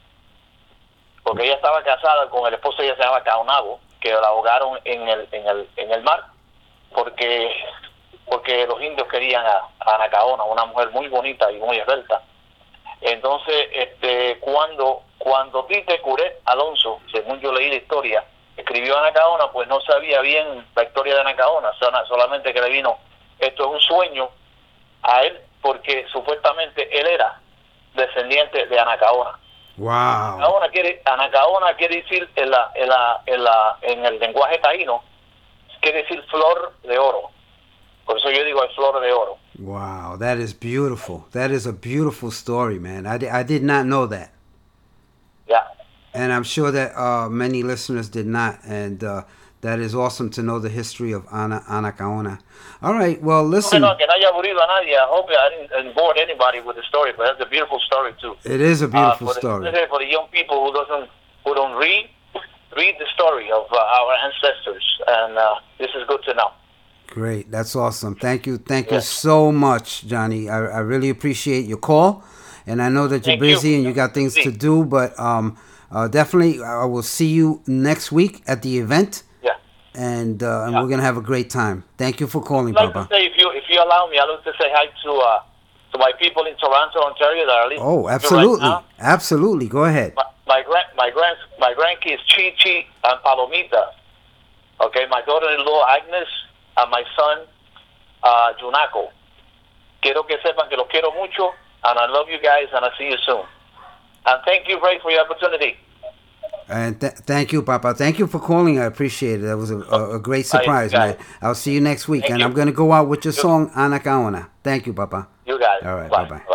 porque ella estaba casada con el esposo, ella se llama Caonabo, que la ahogaron en el en el en el mar, porque porque los indios querían a, a Anacaona, una mujer muy bonita y muy esbelta. Entonces, este, cuando cuando Tite Curé Alonso, según yo leí la historia, escribió Anacaona, pues no sabía bien la historia de Anacaona, sola- solamente que le vino, esto es un sueño a él, porque supuestamente él era descendiente de Anacaona. Wow. Anacaona quiere, Anacaona quiere decir en la, en la, en la, en el lenguaje taíno, quiere decir flor de oro. Por eso yo digo es flor de oro. Wow, that is beautiful. That is a beautiful story, man. I, di- I did not know that. Yeah. And I'm sure that uh, many listeners did not. And uh, that is awesome to know the history of Ana, Anacaona. All right, well, listen. No, que no haya aburrido a nadie. I hope I didn't, didn't bore anybody with the story, but that's a beautiful story too. It is a beautiful uh, for story. The, for the young people who doesn't, who don't read read the story of uh, our ancestors, and uh, this is good to know. Great. That's awesome. Thank you. Thank you so much, Johnny. I, I really appreciate your call. And I know that you're Thank busy you. and you got things to do, but um, uh, definitely I will see you next week at the event. Yeah. And, uh, and Yeah. we're going to have a great time. Thank you for calling, I'd like Papa. to say, if you if you allow me, I'd like to say hi to uh, to my people in Toronto, Ontario that are listening Oh, right absolutely. now. Absolutely. Go ahead. My my grand my grand my grandkids Chi Chi and Palomita. Okay, my daughter-in-law Agnes and my son uh, Junako. Quiero que sepan que los quiero mucho, and I love you guys, and I'll see you soon. And thank you, Ray, for your opportunity. And th- thank you, Papa. Thank you for calling. I appreciate it. That was a, a, a great surprise, got man. it. I'll see you next week. Thank and you. I'm going to go out with your song, Ana Kaona. Thank you, Papa. You got it. All right. Bye. Bye-bye. Bye.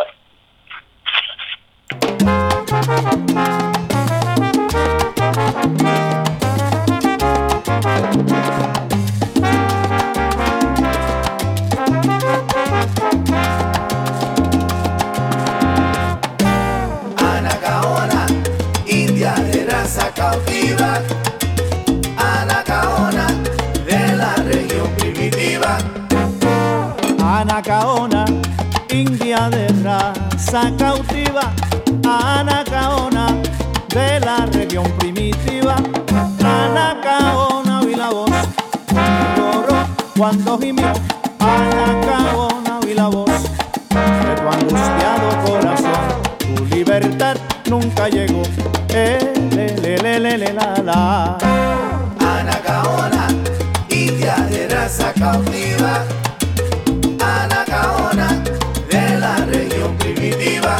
Anacaona, india de raza cautiva. Anacaona, de la región primitiva. Anacaona, india de raza cautiva. Anacaona, de la región primitiva. Anacaona, oí la voz, lloró cuando gimió. Anacaona, oí la voz de tu angustiado corazón. Tu libertad nunca llegó. Eh, le, le, le, le, le, la, la. Anacaona, india de raza cautiva. Anacaona, de la región primitiva.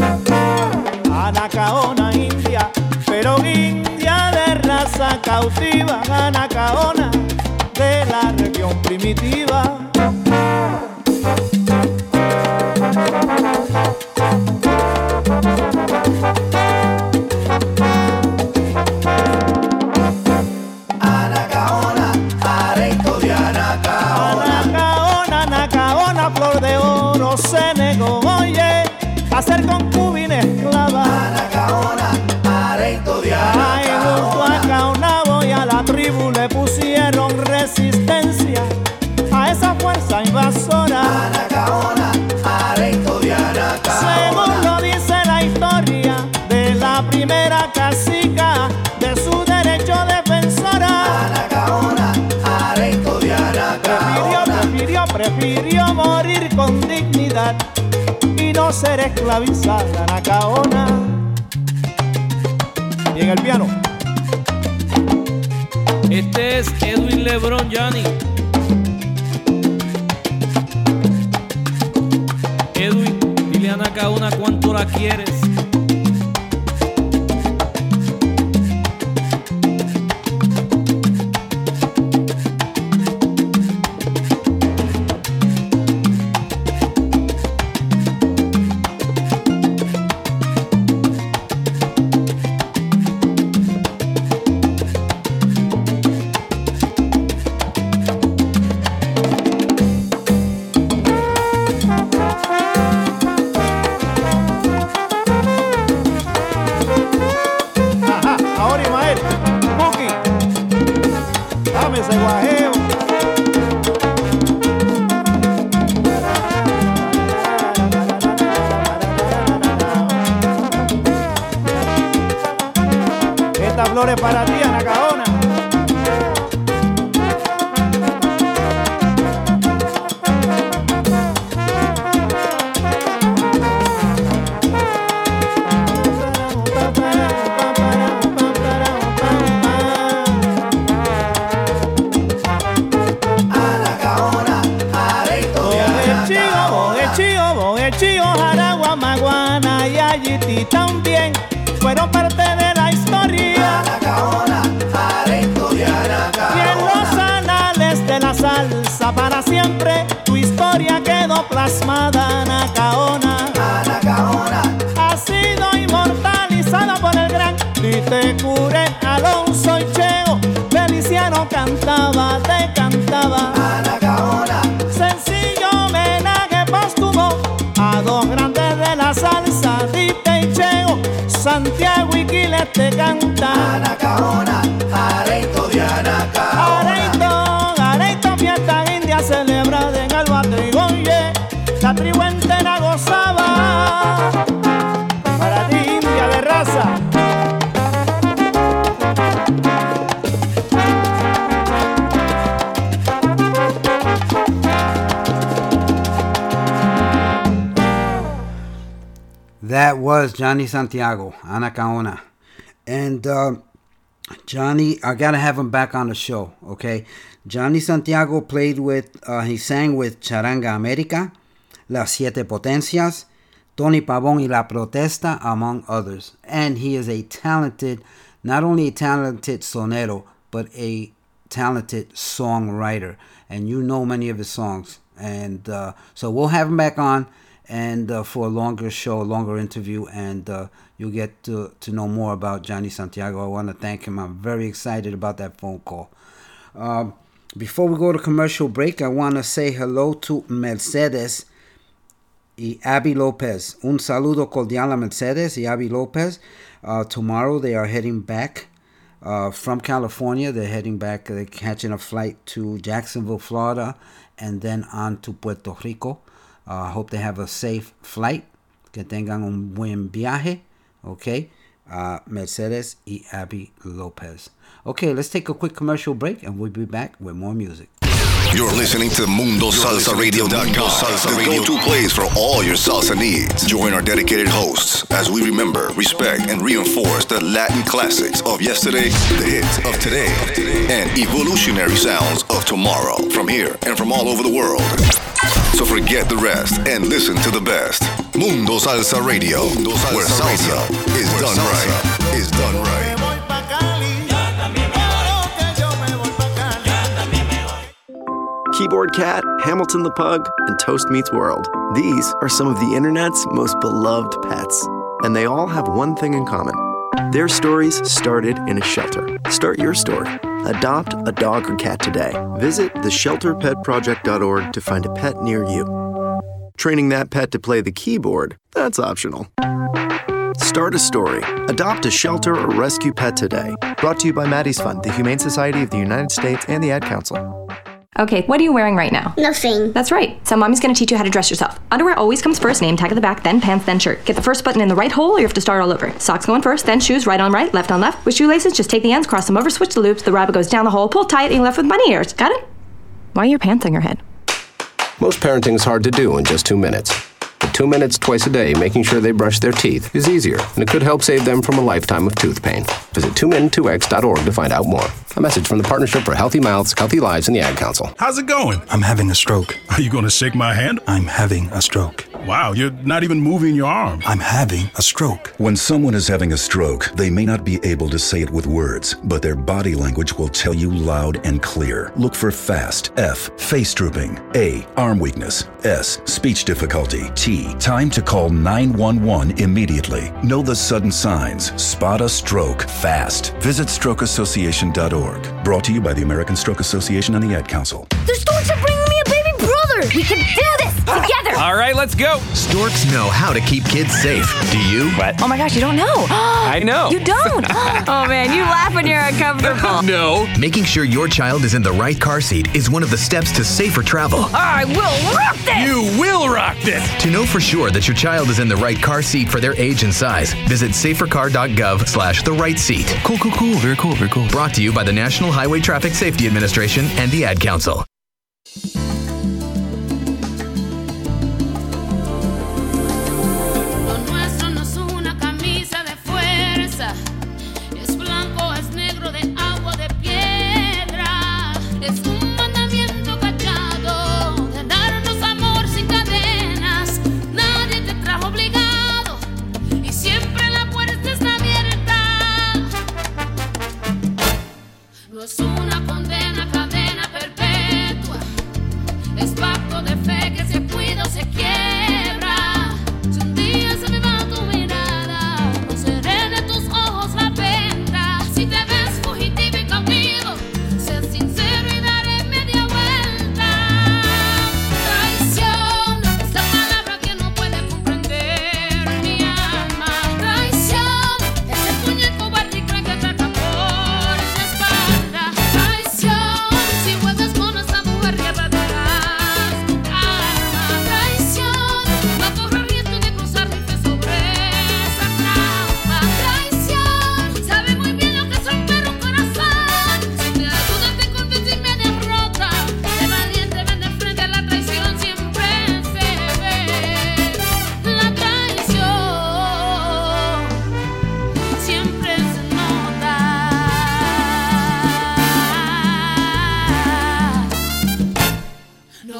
Anacaona, india, pero india de raza cautiva. Anacaona, de la región primitiva. Anacaona, areito de Anacaona. Anacaona, Anacaona, flor de oro se negó, oye, a ser concubina esclava. Anacaona, areito de Ay, junto a Anacaona. Caonabo y a la tribu le pusieron resistencia a esa fuerza invasora. Anacaona, areito de Según Anacaona. lo dice la historia de la primera cacica, de su derecho defensora. Anacaona, areito de Prefirió, Anacaona. prefirió, prefirió morir con dignidad y no ser esclavizada. Anacaona. Y en el piano. Este es Edwin Lebron Johnny. Edwin, dile a Anacaona cuánto la quieres. Ajá, ahora Ismael, Buki, dame ese guajeo. Esta flor es para ti, Anacaona. Anacaona, areito de Boguechío, Anacaona. Boguechío, Boguechío, Jaragua, Maguana y Ayiti también fueron parte de la historia. Anacaona, areito de Y en Anacaona. los anales de la salsa para siempre tu historia quedó plasmada, Anacaona. Anacaona, Ha sido inmortalizada por el gran Tite Cure, Alonso y Cheo. Feliciano cantaba, te cantaba. Anacaona, Sencillo homenaje póstumo a dos grandes de la salsa, Tite y Cheo. Santiago y Quiles te canta. Anacaona, That was Johnny Santiago, Ana Kaona. And uh, Johnny, I got to have him back on the show, okay? Johnny Santiago played with, uh, he sang with Charanga America, Las Siete Potencias, Tony Pavón y La Protesta, among others. And he is a talented, not only a talented sonero, but a talented songwriter. And you know many of his songs. And uh, so we'll have him back on and uh, for a longer show, a longer interview, and uh, you'll get to, to know more about Johnny Santiago. I want to thank him. I'm very excited about that phone call. Uh, before we go to commercial break, I want to say hello to Mercedes y Abby Lopez. Un saludo cordial a Mercedes y Abby Lopez. Uh, tomorrow they are heading back uh, from California. They're heading back. They're catching a flight to Jacksonville, Florida, and then on to Puerto Rico. I uh, hope they have a safe flight. Que tengan un buen viaje. Okay. Uh, Mercedes y Abby Lopez. Okay, let's take a quick commercial break and we'll be back with more music. You're listening to Mundo Salsa Radio dot com, the go-to place for all your salsa needs. Join our dedicated hosts as we remember, respect, and reinforce the Latin classics of yesterday, the hits of today, and evolutionary sounds of tomorrow from here and from all over the world. So forget the rest and listen to the best. Mundo Salsa Radio, Mundo Salsa where salsa Radio. is where done salsa right. Is done right. Keyboard Cat, Hamilton the Pug, and Toast Meets World. These are some of the internet's most beloved pets. And they all have one thing in common. Their stories started in a shelter. Start your story. Adopt a dog or cat today. Visit the shelter pet project dot org to find a pet near you. Training that pet to play the keyboard, that's optional. Start a story. Adopt a shelter or rescue pet today. Brought to you by Maddie's Fund, the Humane Society of the United States, and the Ad Council. Okay, what are you wearing right now? Nothing. That's right. So mommy's gonna teach you how to dress yourself. Underwear always comes first, name tag at the back, then pants, then shirt. Get the first button in the right hole or you have to start all over. Socks going first, then shoes, right on right, left on left. With shoelaces, just take the ends, cross them over, switch the loops, the rabbit goes down the hole, pull tight, and you're left with bunny ears. Got it? Why are your pants on your head? Most parenting's hard to do in just two minutes. But two minutes twice a day making sure they brush their teeth is easier, and it could help save them from a lifetime of tooth pain. Visit two min two x dot org to find out more. A message from the Partnership for Healthy Mouths, Healthy Lives, and the Ad Council. How's it going? I'm having a stroke. Are you going to shake my hand? I'm having a stroke. Wow, you're not even moving your arm. I'm having a stroke. When someone is having a stroke, they may not be able to say it with words, but their body language will tell you loud and clear. Look for FAST. F. Face drooping. A. Arm weakness. S. Speech difficulty. T. Time to call nine one one immediately. Know the sudden signs. Spot a stroke fast. Visit stroke association dot org. Brought to you by the American Stroke Association and the Ad Council. The storks are bringing me a baby brother. We can do this together. All right, let's go. Storks know how to keep kids safe. Do you? What? Oh my gosh, you don't know. I know. You don't. Oh man, you laugh when you're uncomfortable. No. Making sure your child is in the right car seat is one of the steps to safer travel. I will rock this. You will rock this. To know for sure that your child is in the right car seat for their age and size, visit safer car dot gov slash the right seat. Cool, cool, cool. Very cool, very cool. Brought to you by the National Highway Traffic Safety Administration and the Ad Council. Es una condena, cadena perpetua. Es pacto de fe que se cuida o se quiebra. Si un día se me va tu mirada, no seré de tus ojos la venta. Si te ves fugitivo y cautivo, sé sincero y daré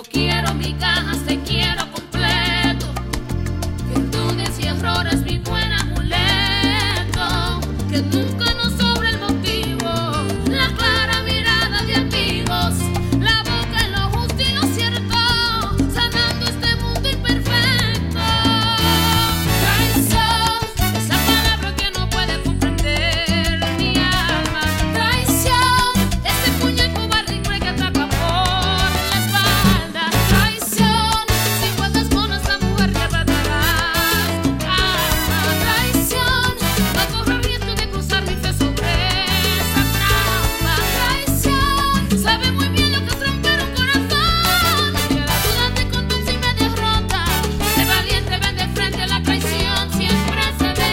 quiero migajas, te quiero completo. Virtudes y errores, mi buen amuleto. Que nunca nos sobre el motivo, la clara mirada de amigos, la boca en lo justo y lo cierto, sanando este mundo imperfecto. Traición es la palabra que no puede comprender mi alma. Traición, ese puño cobarde que ataca por la espalda. Traición, si juegas con esta mujer que arrastrarás tu alma. Traición, no corro riesgo de cruzar mi fe sobre esa trampa. Traición, sabe muy bien lo que es romper un corazón. Que la duda te conduce y me derrota. El valiente ven de frente, la traición siempre se ve.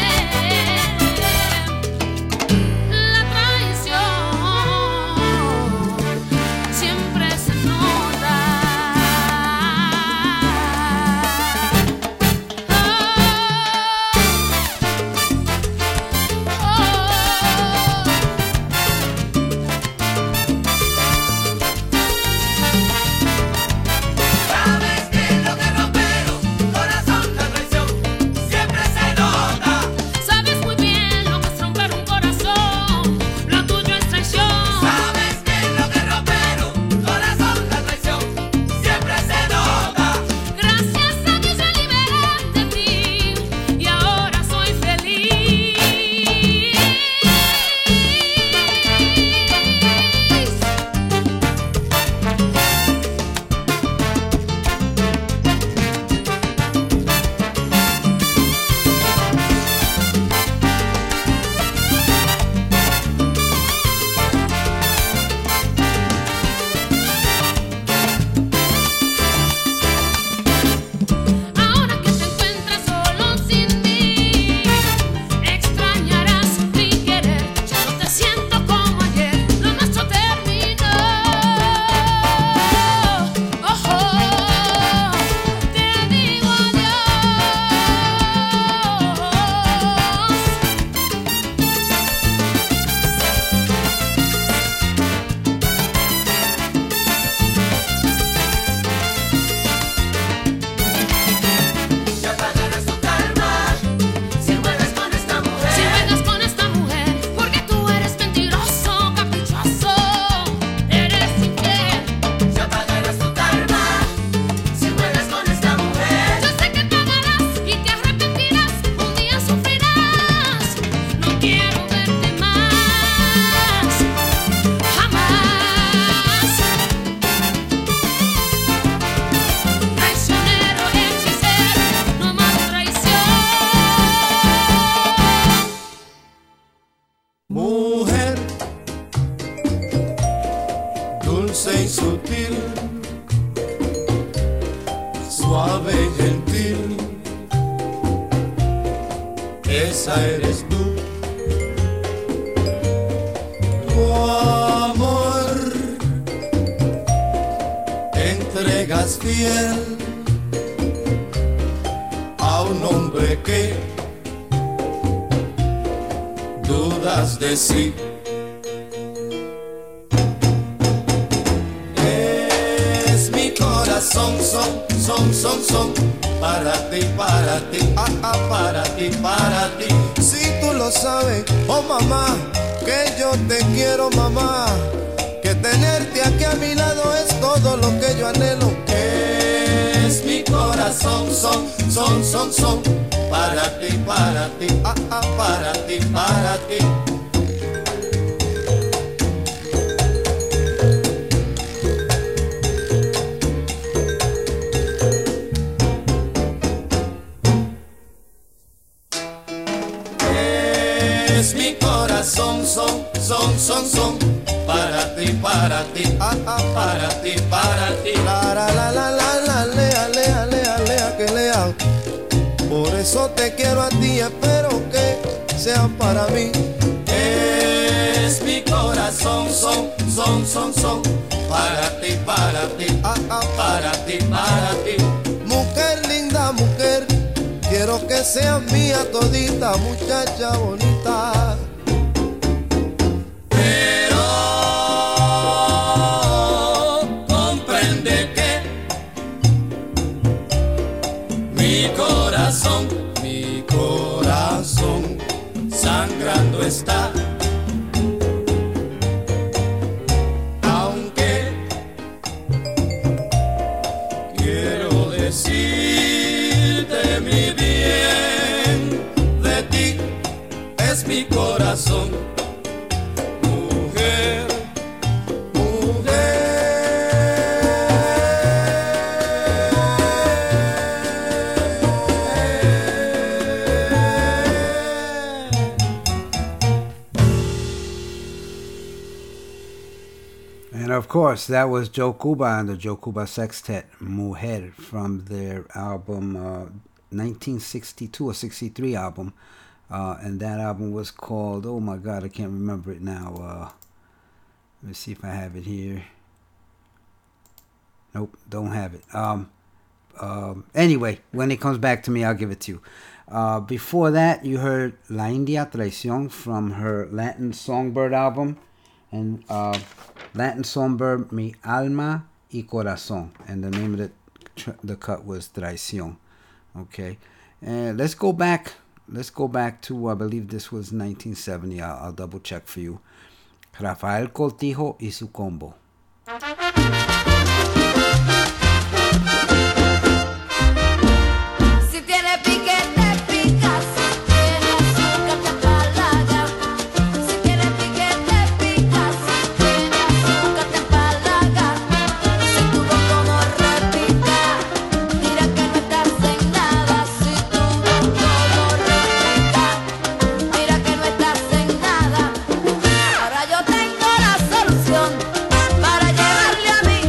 La traición siempre se nota. Sabes que lo que romper un corazón, la traición siempre se nota. Sabes muy bien lo que es romper un corazón, lo tuyo es traición. Sabes que lo que romper un corazón, la traición siempre se nota. Gracias a Dios me liberé de ti y ahora soy feliz. Ahora que te encuentras solo sin mí, extrañarás mi querer. Ya no te siento como ayer, lo nuestro terminó. Ojo, te digo adiós. Ya pagarás tu karma si juegas con esta mujer. Si juegas con esta mujer, porque tú eres mentiroso, caprichoso, eres infiel. Ya pagarás tu karma si juegas con esta mujer. Yo sé que pagarás y te arrepentirás, un día sufrirás. No quiero verte más, jamás. Traicionero, hechicero, no más traición. Mujer, dulce y sutil, suave y gentil, esa eres tú. Tu amor, entregas fiel a un hombre que dudas de sí. Es mi corazón, son, son, son, son, para ti, para ti, ah, ah, para ti, para ti. Si tú lo sabes, oh mamá, que yo te quiero, mamá, que tenerte aquí a mi lado es todo lo que yo anhelo. Es mi corazón, son, son, son, son, para ti, para ti, ah, ah, para ti, para ti. Es mi corazón, son, son, son, son, para ti, para ti, ah, ah, para ti, para ti. La, la, la, la, la, la, lea, lea, lea, lea, que lea. Por eso te quiero a ti, espero que sea para mí. Es mi corazón, son, son, son, son, para ti, para ti, ah, ah, para ti, para ti. Mujer linda, mujer, quiero que seas mía todita, muchacha bonita. Pero comprende que está. Aunque quiero decirte mi bien, de ti es mi corazón. Mujer, And of course, that was Joe Cuba and the Joe Cuba Sextet, Mujer, from their album uh, nineteen sixty-two or sixty-three album. Uh, and that album was called, oh my God, I can't remember it now. Uh, let me see if I have it here. Nope, don't have it. Um, um, anyway, when it comes back to me, I'll give it to you. Uh, before that, you heard La India Traición from her Latin Songbird album. And uh, Latin Songbird, Mi Alma y Corazón. And the name of the, the cut was Traición. Okay. And let's go back. Let's go back to, I believe this was nineteen seventy. I'll, I'll double check for you. Rafael Cortijo y su combo. si tiene pique te pica, si tiene azúcar te empalaga. Si tiene pique te pica, si tiene azúcar te empalaga. Si tú ves como repita, mira que no estás en nada. Si tú ves como repita, mira que no estás en nada. Ahora yo tengo la solución para llevarle a mi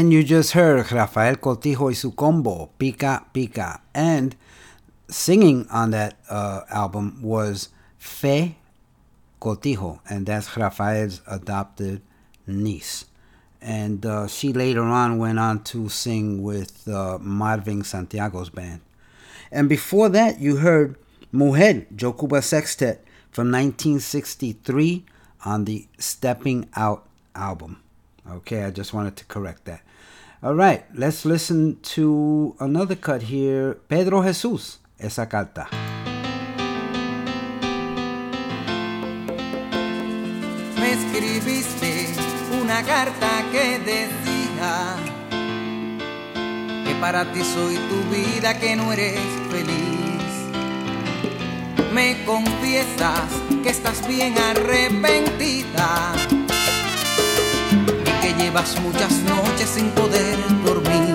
And you just heard Rafael Cortijo y su combo, Pica Pica. And singing on that uh, album was Fe Cortijo, and that's Rafael's adopted niece. And uh, she later on went on to sing with uh, Marvin Santiago's band. And before that, you heard Mujer, Joe Cuba Sextet from nineteen sixty-three on the Stepping Out album. Okay, I just wanted to correct that. All right, let's listen to another cut here. Pedro Jesús, Esa Carta. Me escribiste una carta que decía que para ti soy tu vida, que no eres feliz. Me confiesas que estás bien arrepentida y que llevas muchas noches sin poder dormir.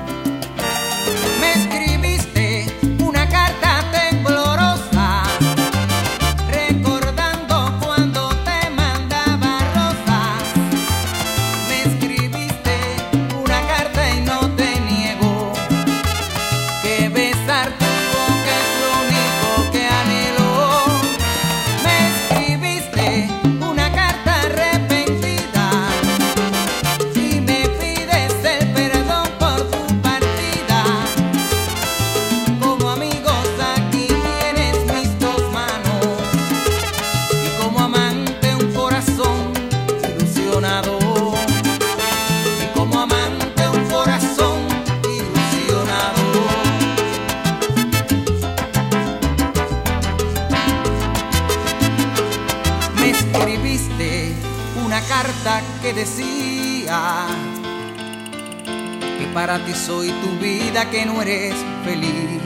Me escribiste una carta temblorosa, recordando cuando te mandaba rosas. Me escribiste una carta y no te niego que besar tu boca es lo único que anhelo. Me escribiste una carta arrepentida y me pides el perdón por tu partida. Como amigos aquí tienes mis dos manos y como amante un corazón ilusionado. Y como amante un corazón ilusionado. Me escribiste una carta que decía que para ti soy tu vida, que no eres feliz.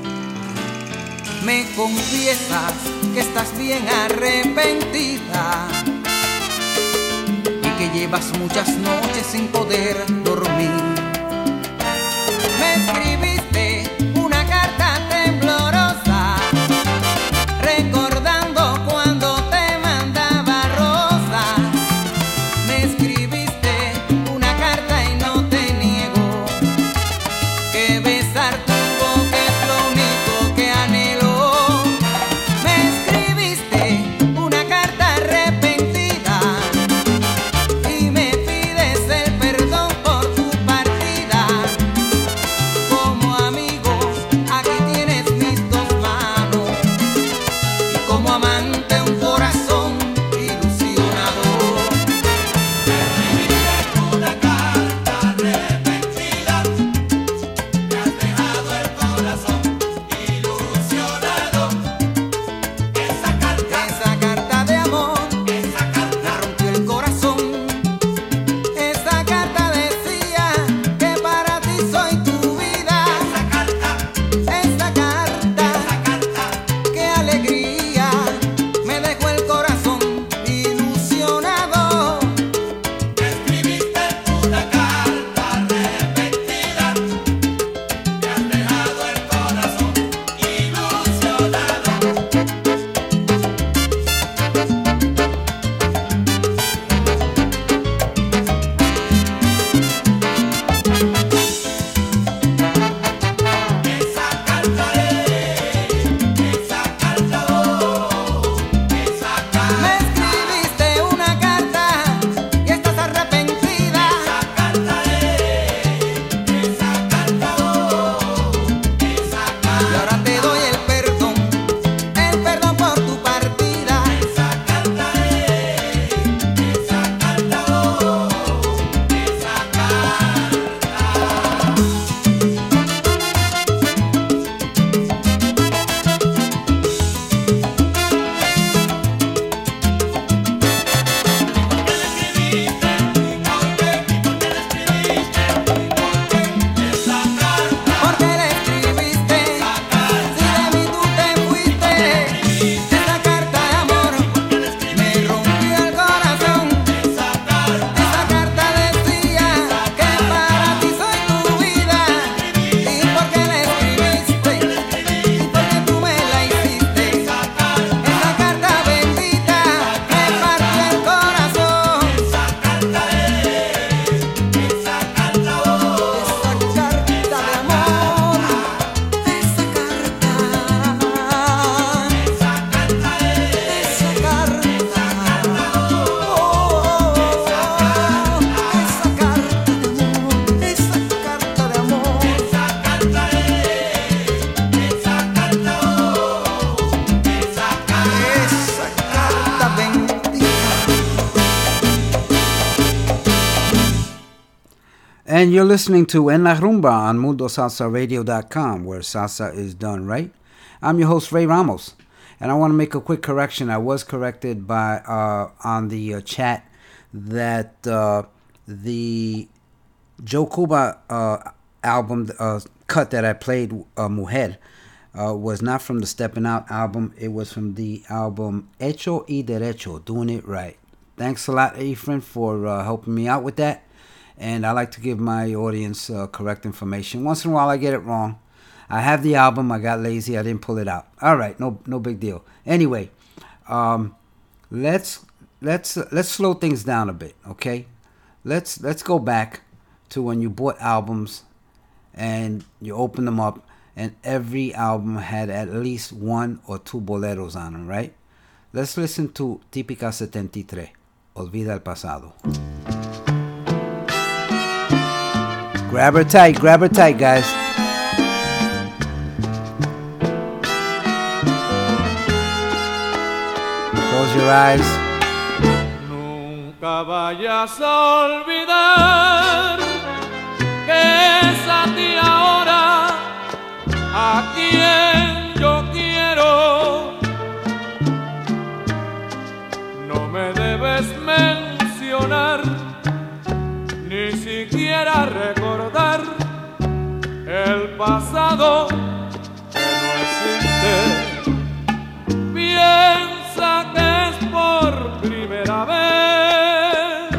Me confiesas que estás bien arrepentida y que llevas muchas noches sin poder dormir. Me escribiste una carta temblorosa, recordando cuando te mandaba rosas. Me escribiste una carta y no te niego que besar tu boca es lo único que anhelo. Me escribiste una carta arrepentida y me pides el perdón por tu partida. Como And you're listening to En La Rumba on Mundo Salsa Radio dot com, where salsa is done right. I'm your host, Ray Ramos. And I want to make a quick correction. I was corrected by uh, on the uh, chat that uh, the Joe Cuba uh, album uh, cut that I played, uh, Mujer, uh, was not from the Steppin' Out album. It was from the album Hecho y Derecho, Doing It Right. Thanks a lot, Ephraim, for uh, helping me out with that. And I like to give my audience uh, correct information. Once in a while, I get it wrong. I have the album. I got lazy. I didn't pull it out. All right, no, no big deal. Anyway, um, let's let's uh, let's slow things down a bit, okay? Let's let's go back to when you bought albums and you opened them up, and every album had at least one or two boleros on them, right? Let's listen to Típica setenta y tres, Olvida el Pasado. Grab her tight, grab her tight, guys. Close your eyes. Nunca vayas a olvidar que es a ti ahora a quien yo quiero. No me debes mencionar, ni siquiera recordar el pasado que no existe. Piensa que es por primera vez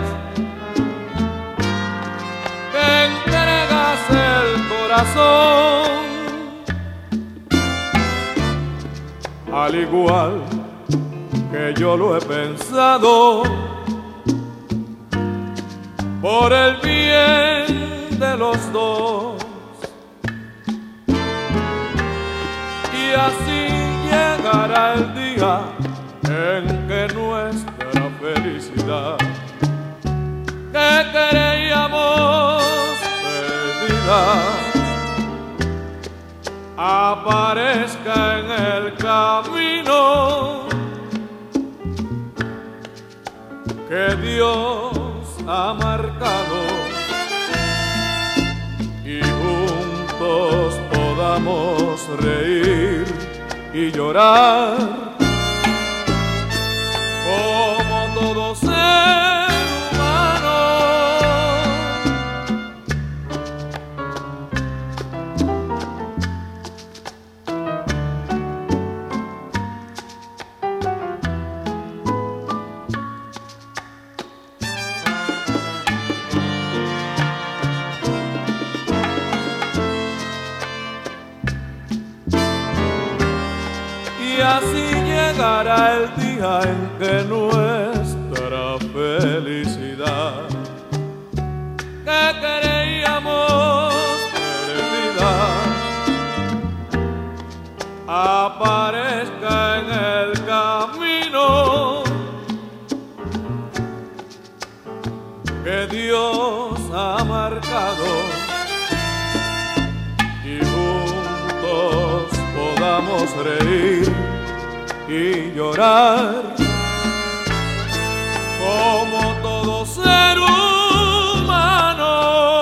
que entregas el corazón, al igual que yo lo he pensado, por el bien de los dos. Y así llegará el día en que nuestra felicidad, que creíamos perdida, aparezca en el camino que Dios ha marcado, y juntos podamos reír y llorar como todo ser humano. Así llegará el día en que nuestra felicidad, que creíamos perdida, aparezca en el camino que Dios ha marcado, y juntos podamos reír y llorar como todo ser humano.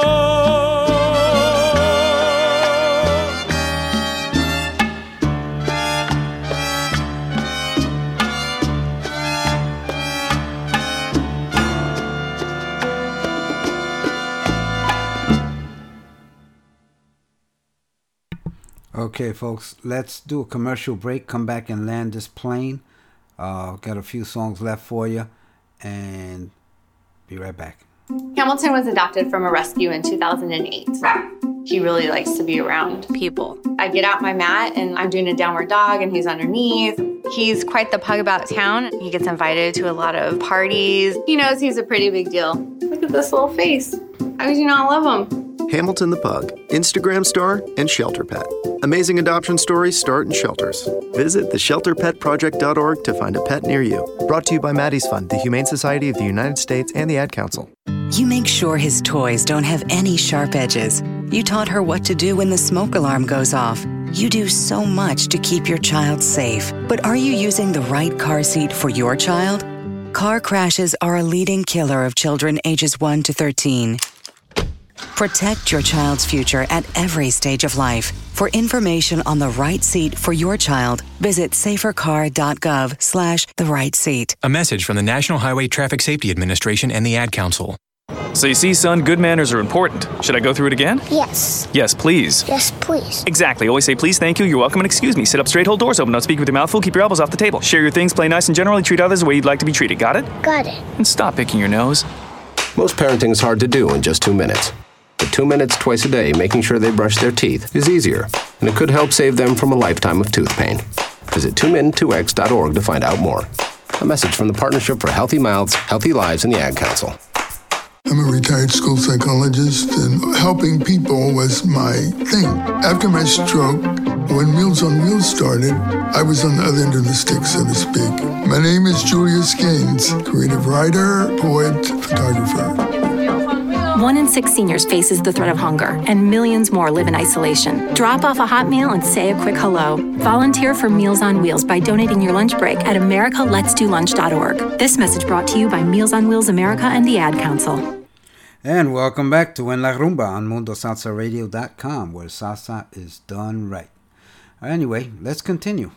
Okay, folks, let's do a commercial break. Come back and land this plane. Uh, got a few songs left for you, and be right back. Hamilton was adopted from a rescue in two thousand eight. He really likes to be around people. I get out my mat and I'm doing a downward dog and he's underneath. He's quite the pug about town. He gets invited to a lot of parties. He knows he's a pretty big deal. Look at this little face. How could you not love him? Hamilton the Pug, Instagram star, and shelter pet. Amazing adoption stories start in shelters. Visit the shelter pet project dot org to find a pet near you. Brought to you by Maddie's Fund, the Humane Society of the United States, and the Ad Council. You make sure his toys don't have any sharp edges. You taught her what to do when the smoke alarm goes off. You do so much to keep your child safe. But are you using the right car seat for your child? Car crashes are a leading killer of children ages one to thirteen. Protect your child's future at every stage of life. For information on the right seat for your child, visit safercar.gov slash the right seat. A message from the National Highway Traffic Safety Administration and the Ad Council. So you see, son, good manners are important. Should I go through it again? Yes. Yes, please. Yes, please. Exactly. Always say please, thank you, you're welcome, and excuse me. Sit up straight, hold doors open, don't speak with your mouth full, keep your elbows off the table. Share your things, play nice, and generally treat others the way you'd like to be treated. Got it? Got it. And stop picking your nose. Most parenting is hard to do in just two minutes. But two minutes twice a day making sure they brush their teeth is easier, and it could help save them from a lifetime of tooth pain. Visit two min two x dot org to find out more. A message from the Partnership for Healthy Mouths, Healthy Lives, and the Ad Council. I'm a retired school psychologist, and helping people was my thing. After my stroke, when Meals on Wheels started, I was on the other end of the stick, so to speak. My name is Julius Gaines, creative writer, poet, photographer. One in six seniors faces the threat of hunger, and millions more live in isolation. Drop off a hot meal and say a quick hello. Volunteer for Meals on Wheels by donating your lunch break at america lets do lunch dot org. This message brought to you by Meals on Wheels America and the Ad Council. And welcome back to En La Rumba on mundo salsa radio dot com, where salsa is done right. Anyway, let's continue.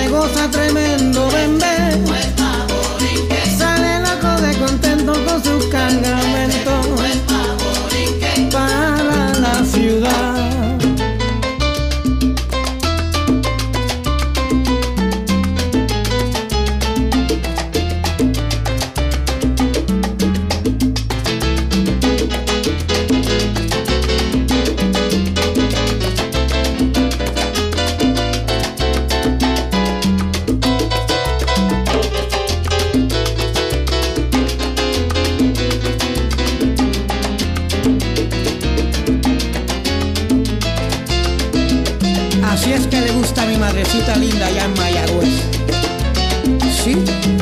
goza tremendo bembé. Sale loco de contento con sus cargamentos para la ciudad. Así es que le gusta a mi madrecita linda allá en Mayagüez. ¿Sí?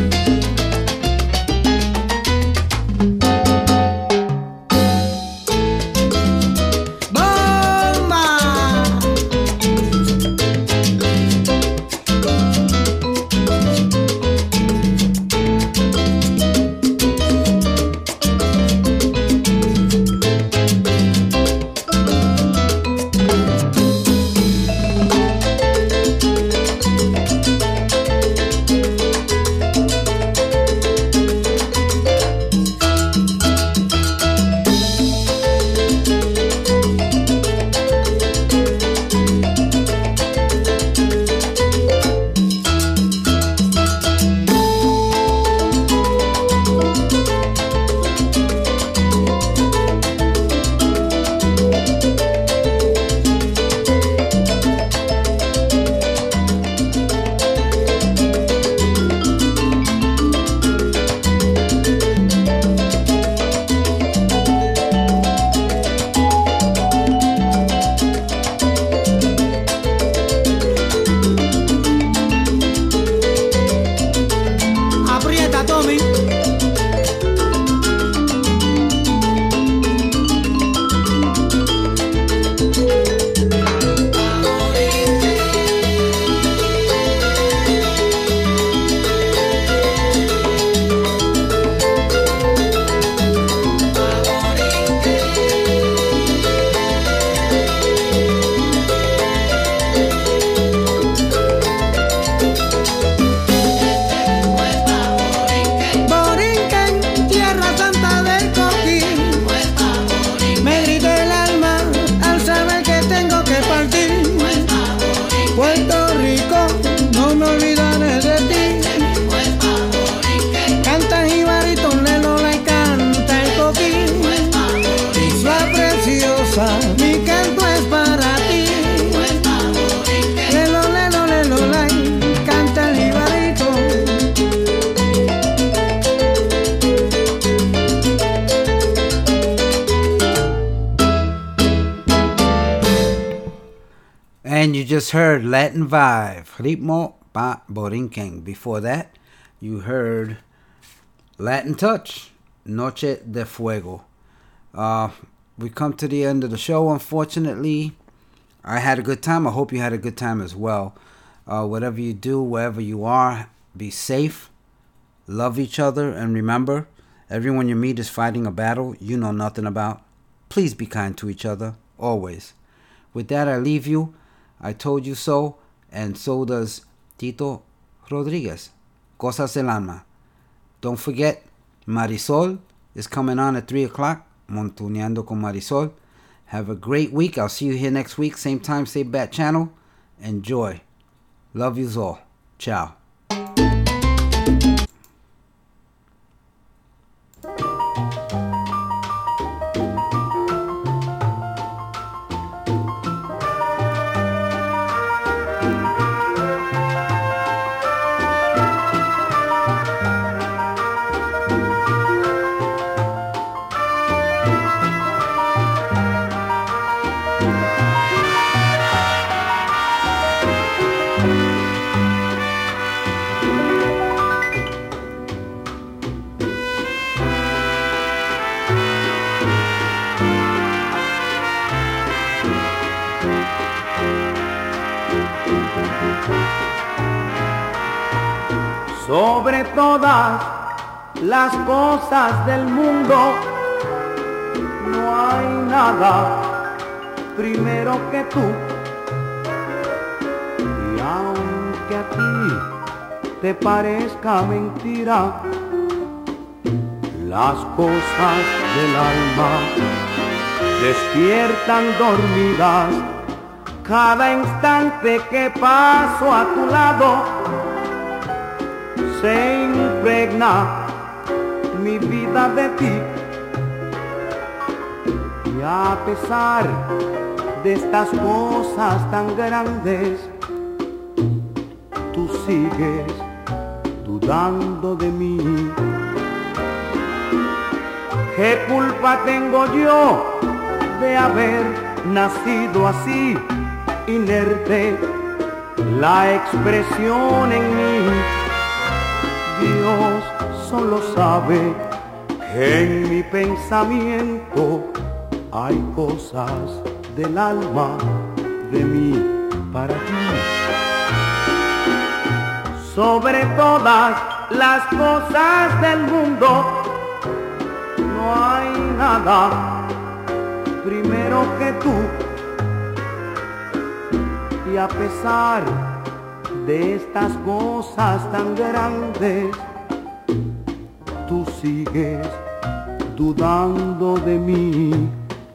And you just heard Latin Vibe, Ritmo pa Borinquen. Before that, you heard Latin Touch, Noche de Fuego. Uh, we come to the end of the show, unfortunately. I had a good time. I hope you had a good time as well. Uh, whatever you do, wherever you are, be safe, love each other, and remember, everyone you meet is fighting a battle you know nothing about. Please be kind to each other, always. With that, I leave you. I told you so, and so does Tito Rodriguez. Cosas del Alma. Don't forget, Marisol is coming on at three o'clock. Montuneando con Marisol. Have a great week. I'll see you here next week. Same time, same bat channel. Enjoy. Love yous all. Ciao. Sobre todas las cosas del mundo no hay nada primero que tú. Y aunque que a ti te parezca mentira, las cosas del alma despiertan dormidas. Cada instante que paso a tu lado se impregna mi vida de ti. Y a pesar de estas cosas tan grandes, tú sigues dudando de mí. ¿Qué culpa tengo yo de haber nacido así, inerte, la expresión en mí? Dios solo sabe que en mi pensamiento hay cosas del alma de mí para ti. Sobre todas las cosas del mundo no hay nada primero que tú. Y a pesar de estas cosas tan grandes, tú sigues dudando de mí.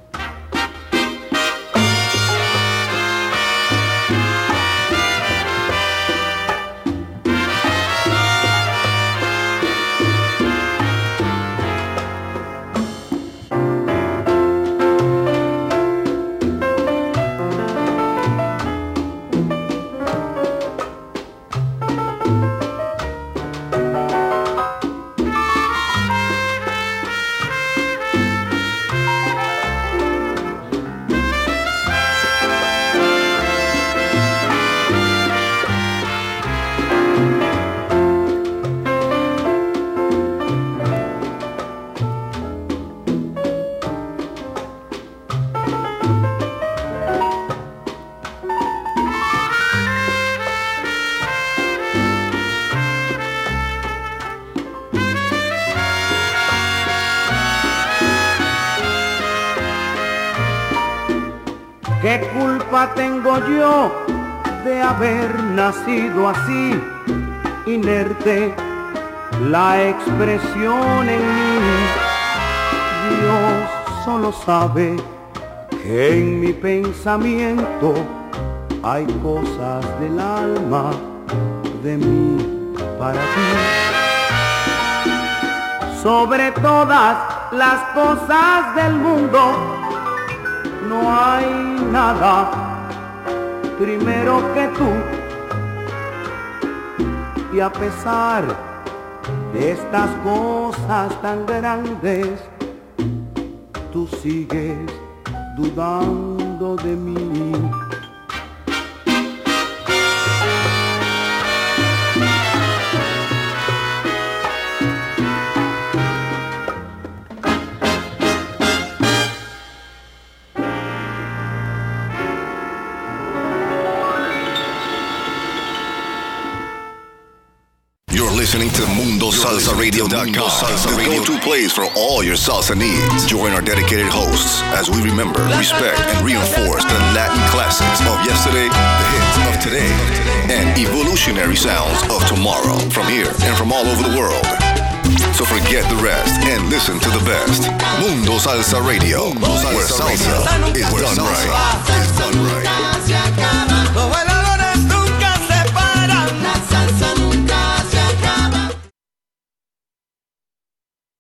¿Qué culpa tengo yo de haber nacido así, inerte, la expresión en mí? Dios solo sabe que en mi pensamiento hay cosas del alma de mí para ti. Sobre todas las cosas del mundo no hay nada primero que tú. Y a pesar de estas cosas tan grandes, tú sigues dudando de mí. Listening to Mundo Salsa Radio dot com, the go-to place for all your salsa needs. Join our dedicated hosts as we remember, respect, and reinforce the Latin classics of yesterday, the hits of today, and evolutionary sounds of tomorrow from here and from all over the world. So forget the rest and listen to the best. Mundo Salsa Radio, where salsa is